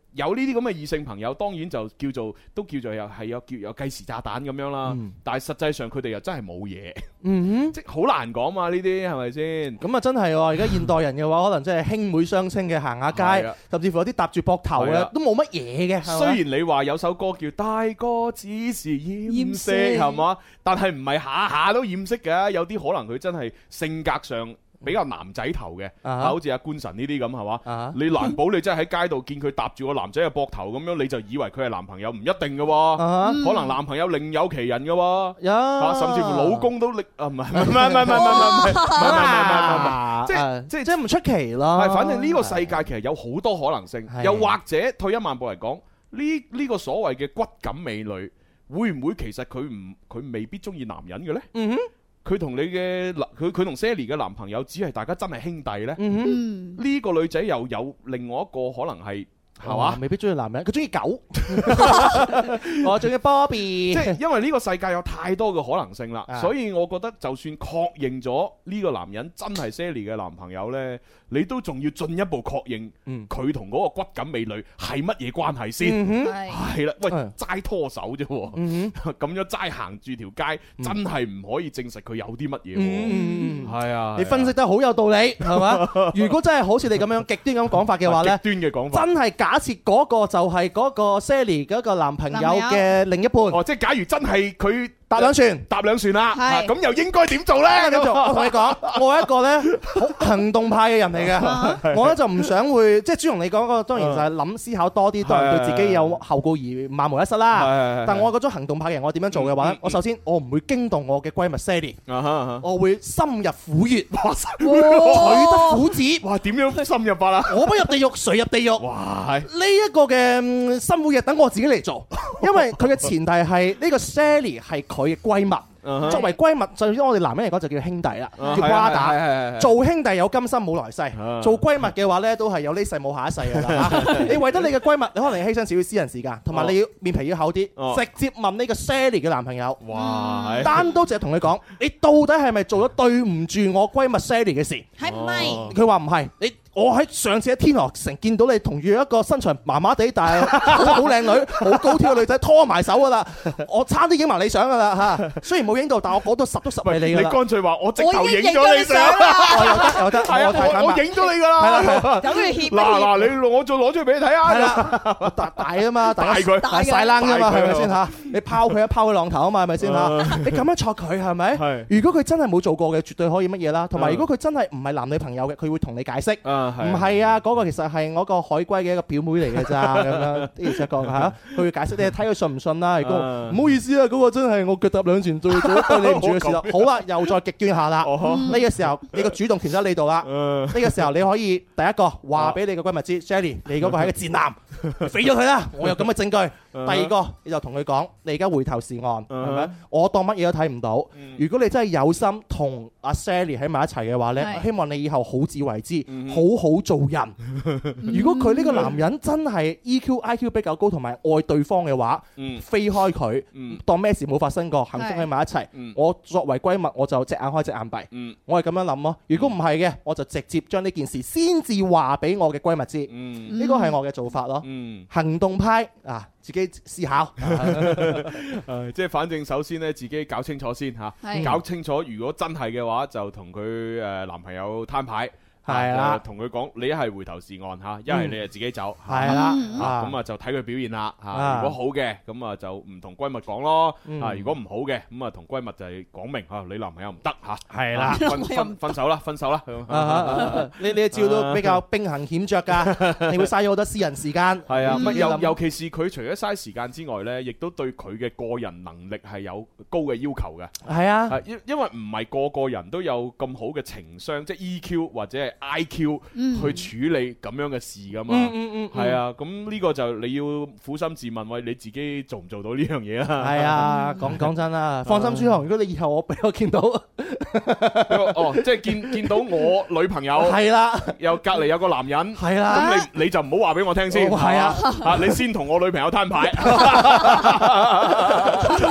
有呢啲咁嘅異性朋友，當然就叫做都叫做有係有叫有計時炸彈咁樣啦。 嗯但係實際上佢哋又真係冇嘢， 嗯即係好難講嘛呢啲係咪先？ 咁啊真係喎！而家現代人嘅話，可能真係兄妹相稱嘅行下街係啊， 甚至乎有啲搭住膊頭係啊嘅，都冇乜嘢嘅。係嘛雖然你話有首歌叫《大哥只是掩飾》係嘛，但係唔係下下都掩飾嘅，有啲可能佢真係性格上比較男仔頭嘅， 啊啊好似阿官神呢啲咁係嘛啊， 你難保你真係喺街度見佢搭住個男仔嘅膊頭咁樣，你就以為佢係男朋友，唔一定嘅喎， 啊可能男朋友另有其人嘅喎， 有啊甚至乎老公都另啊唔係唔係唔係唔係唔係唔係唔係唔係唔係，即係係即係即係唔出奇咯。 係，反正呢個世界其實有好多可能性，又或者退一萬步嚟講，呢呢個所謂嘅骨感美女，會唔會其實佢唔佢未必中意男人嘅呢？ 嗯哼， 佢同你嘅男佢佢同 Sally 嘅男朋友只係大家真係兄弟呢？ 嗯哼， 呢個女仔又有另外一個可能係係嘛？ 未必中意男人，佢中意狗。我中意 Bobby， 即係因為呢個世界有太多嘅可能性啦，所以我覺得就算確認咗呢個男人真係 Sally 嘅男朋友呢，你都仲要進一步確認佢同嗰個骨感美女係乜嘢關係先？ 嗯係啦，喂，齋拖手啫喎，咁樣齋行住條街，真係唔可以證實佢有啲乜嘢喎。係啊， 你分析得好有道理，係嘛？如果真係好似你咁樣極端咁講法嘅話呢， 極端嘅講法， 真係假設嗰個就係嗰個 Sally 嗰個男朋友嘅另一半。 哦，即係假如真係佢搭兩船， 搭兩船啦， 係咁又應該點做呢？ 點做？我同你講，我係一個咧好行動派嘅人嚟嘅，我咧就唔想會即係朱紅你講嗰個，當然就係諗思考多啲，當然對自己有後顧而萬無一失啦。但我嗰種行動派嘅人，我點樣做嘅話咧？我首先我唔會驚動我嘅閨蜜 Sally，我會深入虎穴，取得虎子。 哇！點樣深入法啊？ 我不入地獄，誰入地獄？ 哇！ 呢一個嘅深虎穴等我自己嚟做，因為佢嘅前提係呢個 Sally 係佢嘅閨蜜。作為閨蜜，就算我哋男人嚟講就叫兄弟啦，叫 brother。做兄弟有今生冇來世，做閨蜜嘅話咧都係有呢世冇下一世㗎啦。你為咗你嘅閨蜜，你可能要犧牲少少私人時間，同埋你要面皮要厚啲，直接問呢個 Sally 嘅男朋友。 哇！ 單刀直接同佢講，你到底係咪做咗對唔住我閨蜜 Sally 嘅事？ 係唔係？ 佢話唔係，你。我喺上次喺天河城見到你同住一個身材麻麻地，但係好好靚女、好高挑嘅女仔拖埋手噶啦，我差啲影埋你相噶啦嚇。雖然冇影到，但我嗰度十足十係你噶啦。 你乾脆話我直頭影咗你相， 又得又得， 係啊，我我影咗你噶啦。係啦， 等佢協嗱嗱，你我再攞出嚟俾你睇下。 係啦，大大啊嘛， 大佢大晒冷㗎嘛，係咪先嚇？你拋佢一拋佢浪頭啊嘛，係咪先嚇？你咁樣錯佢係咪？如果佢真係冇做過嘅，絕對可以乜嘢啦。同埋如果佢真係唔係男女朋友嘅，佢會同你解釋。唔係啊。嗰個其實係我個海龜嘅一個表妹嚟嘅咋，咁樣的而且確嚇，佢會解釋你睇佢信唔信啦。如果唔好意思啊，嗰個真係我腳踏兩船做做對你唔住嘅事啦。好啦，又再極端下啦。呢個時候你個主動權喺你度啦。呢個時候你可以第一個話俾你個閨蜜知 ，Sally，你嗰個係一個賤男，飛咗佢啦。我有咁嘅證據。第二個你就同佢講，你而家回頭是岸，係咪？我當乜嘢都睇唔到。如果你真係有心同阿 Sally 喺埋一齊嘅話咧，希望你以後好自為之，好好做人。如果佢呢個男人真係 E Q I Q 比較高，同埋愛對方嘅話，飛開佢，當咩事冇發生過，幸福喺埋一齊。我作為閨蜜，我就隻眼開隻眼閉。我係咁樣諗咯。如果唔係嘅，我就直接將呢件事先至話俾我嘅閨蜜知。呢個係我嘅做法咯。行動派啊！自己思考， 誒，即係反正首先咧，自己搞清楚先嚇，搞清楚如果真係嘅話，就同佢誒男朋友攤牌。係啦，同佢講，你一係回頭是岸嚇，一係你就自己走。 係啦， 咁啊就睇佢表現啦嚇。如果好嘅，咁啊就唔同閨蜜講咯。啊，如果唔好嘅，咁啊同閨蜜就係講明嚇，你男朋友唔得嚇。係啦，分分分手啦，分手啦。 你你招都比較兵行險著㗎，你會嘥咗好多私人時間。 係啊，尤尤其是佢除咗嘥時間之外咧，亦都對佢嘅個人能力係有高嘅要求嘅。 係啊， 因因為唔係個個人都有咁好嘅情商，即係 E Q 或者係I Q 去處理咁樣嘅事噶嘛，係啊，咁呢個就你要苦心自問，喂，你自己做唔做到呢樣嘢啊？ 係啊，講講真啦，放心朱紅，如果你以後我俾我見到， 哦，即係見見到我女朋友係啦， 又隔離有個男人， 係啦， 咁你你就唔好話俾我聽先， 係啊， 啊，你先同我女朋友攤牌，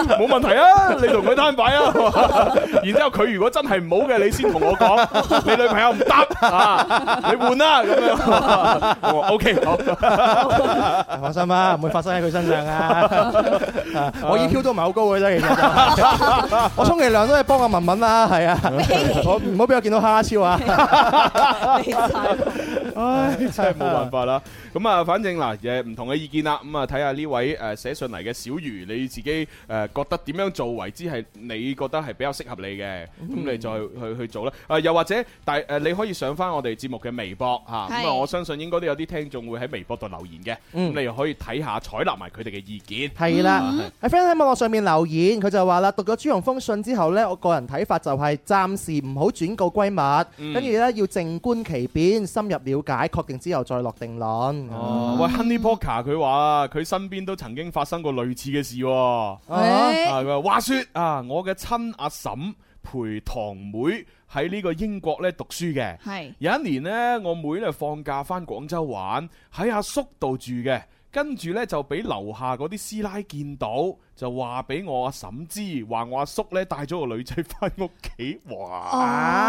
冇問題啊，你同佢攤牌啊。然之後佢如果真係唔好嘅，你先同我講，你女朋友唔得啊，你換啦咁樣。我話 OK 好， 放心啦，唔會發生喺佢身上啊。我 E Q 都唔係好高嘅啫，其實我充其量都係幫阿文文啦，係啊，我唔好俾我見到蝦超啊。 唉，真係冇辦法啦。咁啊，反正嗱，誒唔同嘅意見啦。咁啊，睇下呢位誒寫信嚟嘅小魚，你自己誒覺得點樣做為之係你覺得係比較適合你嘅，咁你再去去做啦。誒又或者，但誒你可以上翻我哋節目嘅微博嚇，咁啊，我相信應該都有啲聽眾會喺微博度留言嘅，咁你又可以睇下採納埋佢哋嘅意見。 係啦，喺 friend 喺網絡上面留言，佢就話啦，讀咗朱紅封信之後呢，我個人睇法就係暫時唔好轉告閨蜜，跟住呢要靜觀其變，深入了解，確定之後再落定論。 哦，喂 ，Honey Poker 佢話佢身邊都曾經發生過類似嘅事喎。啊，佢話話説啊，我嘅親阿嬸陪堂妹喺呢個英國咧讀書嘅。係有一年呢，我妹咧放假翻廣州玩，喺阿叔度住嘅，跟住咧就俾樓下嗰啲師奶見到。就話俾我阿嬸知，話我阿叔咧帶咗個女仔翻屋企，哇！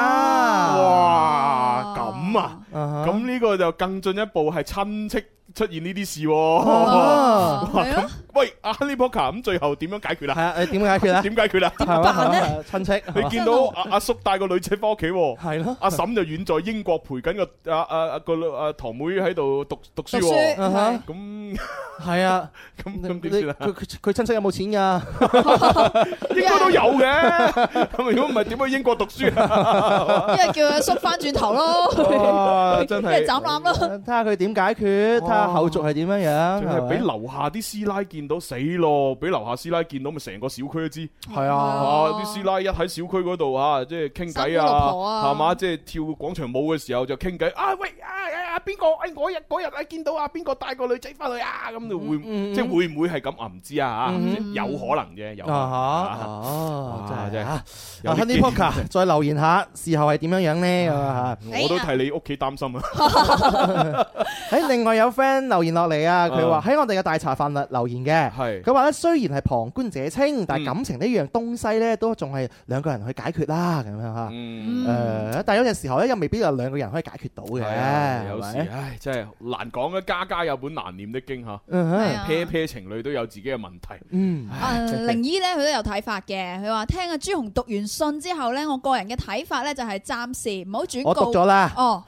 哇！咁啊，咁呢個就更進一步係親戚出現呢啲事喎。咁喂，阿 Honey Poker 咁最後點樣解決啦？係啊，你點解決啊？ 點解決啦？ 點辦咧？親戚， 你見到阿阿叔帶個女仔翻屋企，係咯？阿嬸就遠在英國陪緊個阿阿阿個阿堂妹喺度讀讀書。咁係啊， 咁咁點算啊？ 佢佢佢親戚有冇錢噶？ 應該都有嘅。咁如果唔係點去英國讀書啊？ 因為叫阿叔翻轉頭咯， 真係一係斬纜咯。 睇下佢點解決，睇下後續係點樣樣。 係俾樓下啲師奶見到死咯，俾樓下師奶見到咪成個小區都知。 係啊， 啲師奶一喺小區嗰度啊，即係傾偈啊，係嘛，即係跳廣場舞嘅時候就傾偈。啊喂啊啊邊個？誒嗰日嗰日啊見到啊邊個帶個女仔翻去啊？咁就會即係會唔會係咁啊？唔知啊嚇，有可能啫，有可能。 哦，真係真係嚇。Honey Poker 再留言下，事後係點樣樣咧？ 我都替你屋企擔心啊！ 喺另外有 friend 留言落嚟啊，佢話喺我哋嘅大茶飯留留言嘅，係佢話咧雖然係旁觀者清，但係感情呢樣東西咧都仲係兩個人去解決啦，咁樣嚇。誒，但係有陣時候咧又未必有兩個人可以解決到嘅。 有時唉，真係難講啊！家家有本難念的經嚇，pair pair情侶都有自己嘅問題。嗯， 誒靈姨咧佢都有睇法嘅，佢話聽阿朱紅讀完信之後咧，我個人嘅睇法咧就係暫時唔好轉告。 我讀咗啦。哦。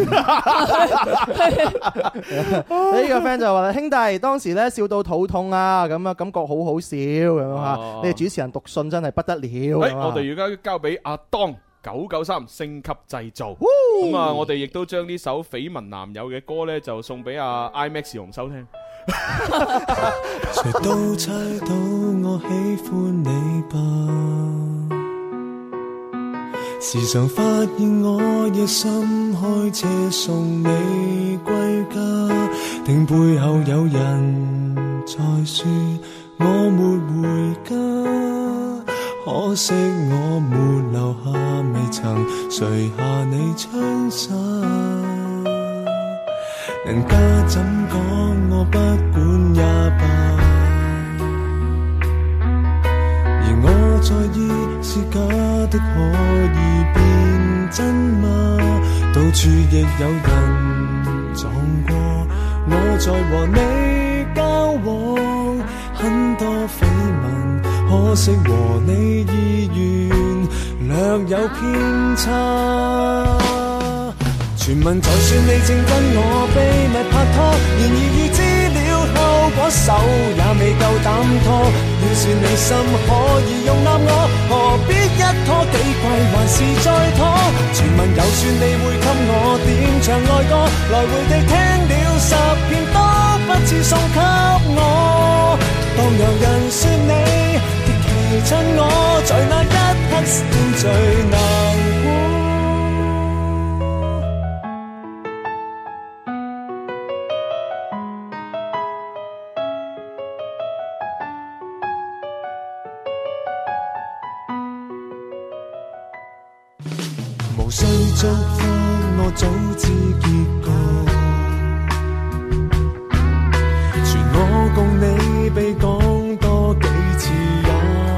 呢個 friend 就話：兄弟，當時咧笑到肚痛啊，咁啊感覺好好笑咁啊！你哋主持人讀信真係不得了。誒， 我哋而家交俾阿當九九三升級製造。咁啊，我哋亦都將呢首緋聞男友嘅歌咧，就送俾阿 IMAX 紅收聽。 誰都猜到我喜歡你吧，時常發現我夜深開車送你歸家，定背後有人在說我沒回家，可惜我沒留下，未曾垂下你窗紗，人家怎講我不管也罷，而我在意是假的可以變真嗎？到處亦有人撞過我在和你交往，很多緋聞，可惜和你意願略有偏差。傳聞就算你正跟我秘密拍拖，然而預知了後果，手也未夠膽拖。要是你心可以容納我，何必一拖幾季還是再拖？傳聞就算你會給我點唱愛歌，來回地聽了十遍都不似送給我。當有人說你極其襯我，在那一刻先最難過。無需祝福，我早知結局。傳我共你被講多幾次也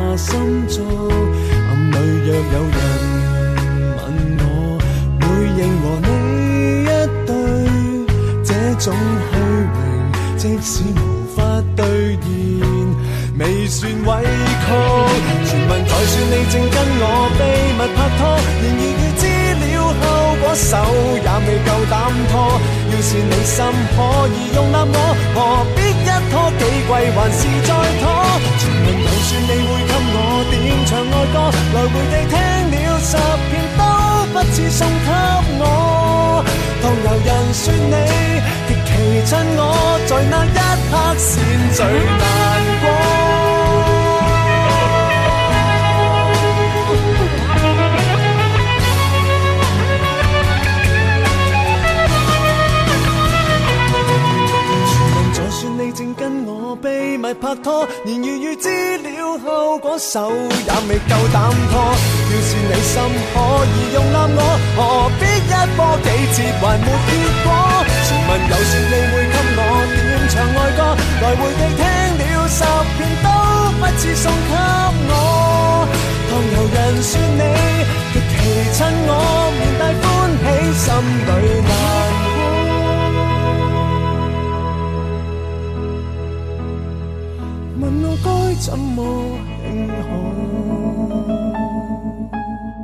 有人問我會認和你一對，這種虛榮即使無法兌現，未算委屈。傳聞就算你正跟我秘密拍拖，然而預知了後果手也未夠膽拖。要是你心可以容納我，何必一拖幾季還是再拖？傳聞就算你會給我點唱愛歌，來回地聽了十遍都不似送給我。當有人說你極其襯我，在那一刻先最難過。正跟我秘密拍拖，然而預知了後果手也未夠膽拖。要是你心可以容納我，何必一波幾折還沒結果？傳聞有說你會給我點唱愛歌，來回地聽了十遍都不似送給我。當有人說你極其襯我，面帶歡喜心裏難過。問我該怎麼慶賀？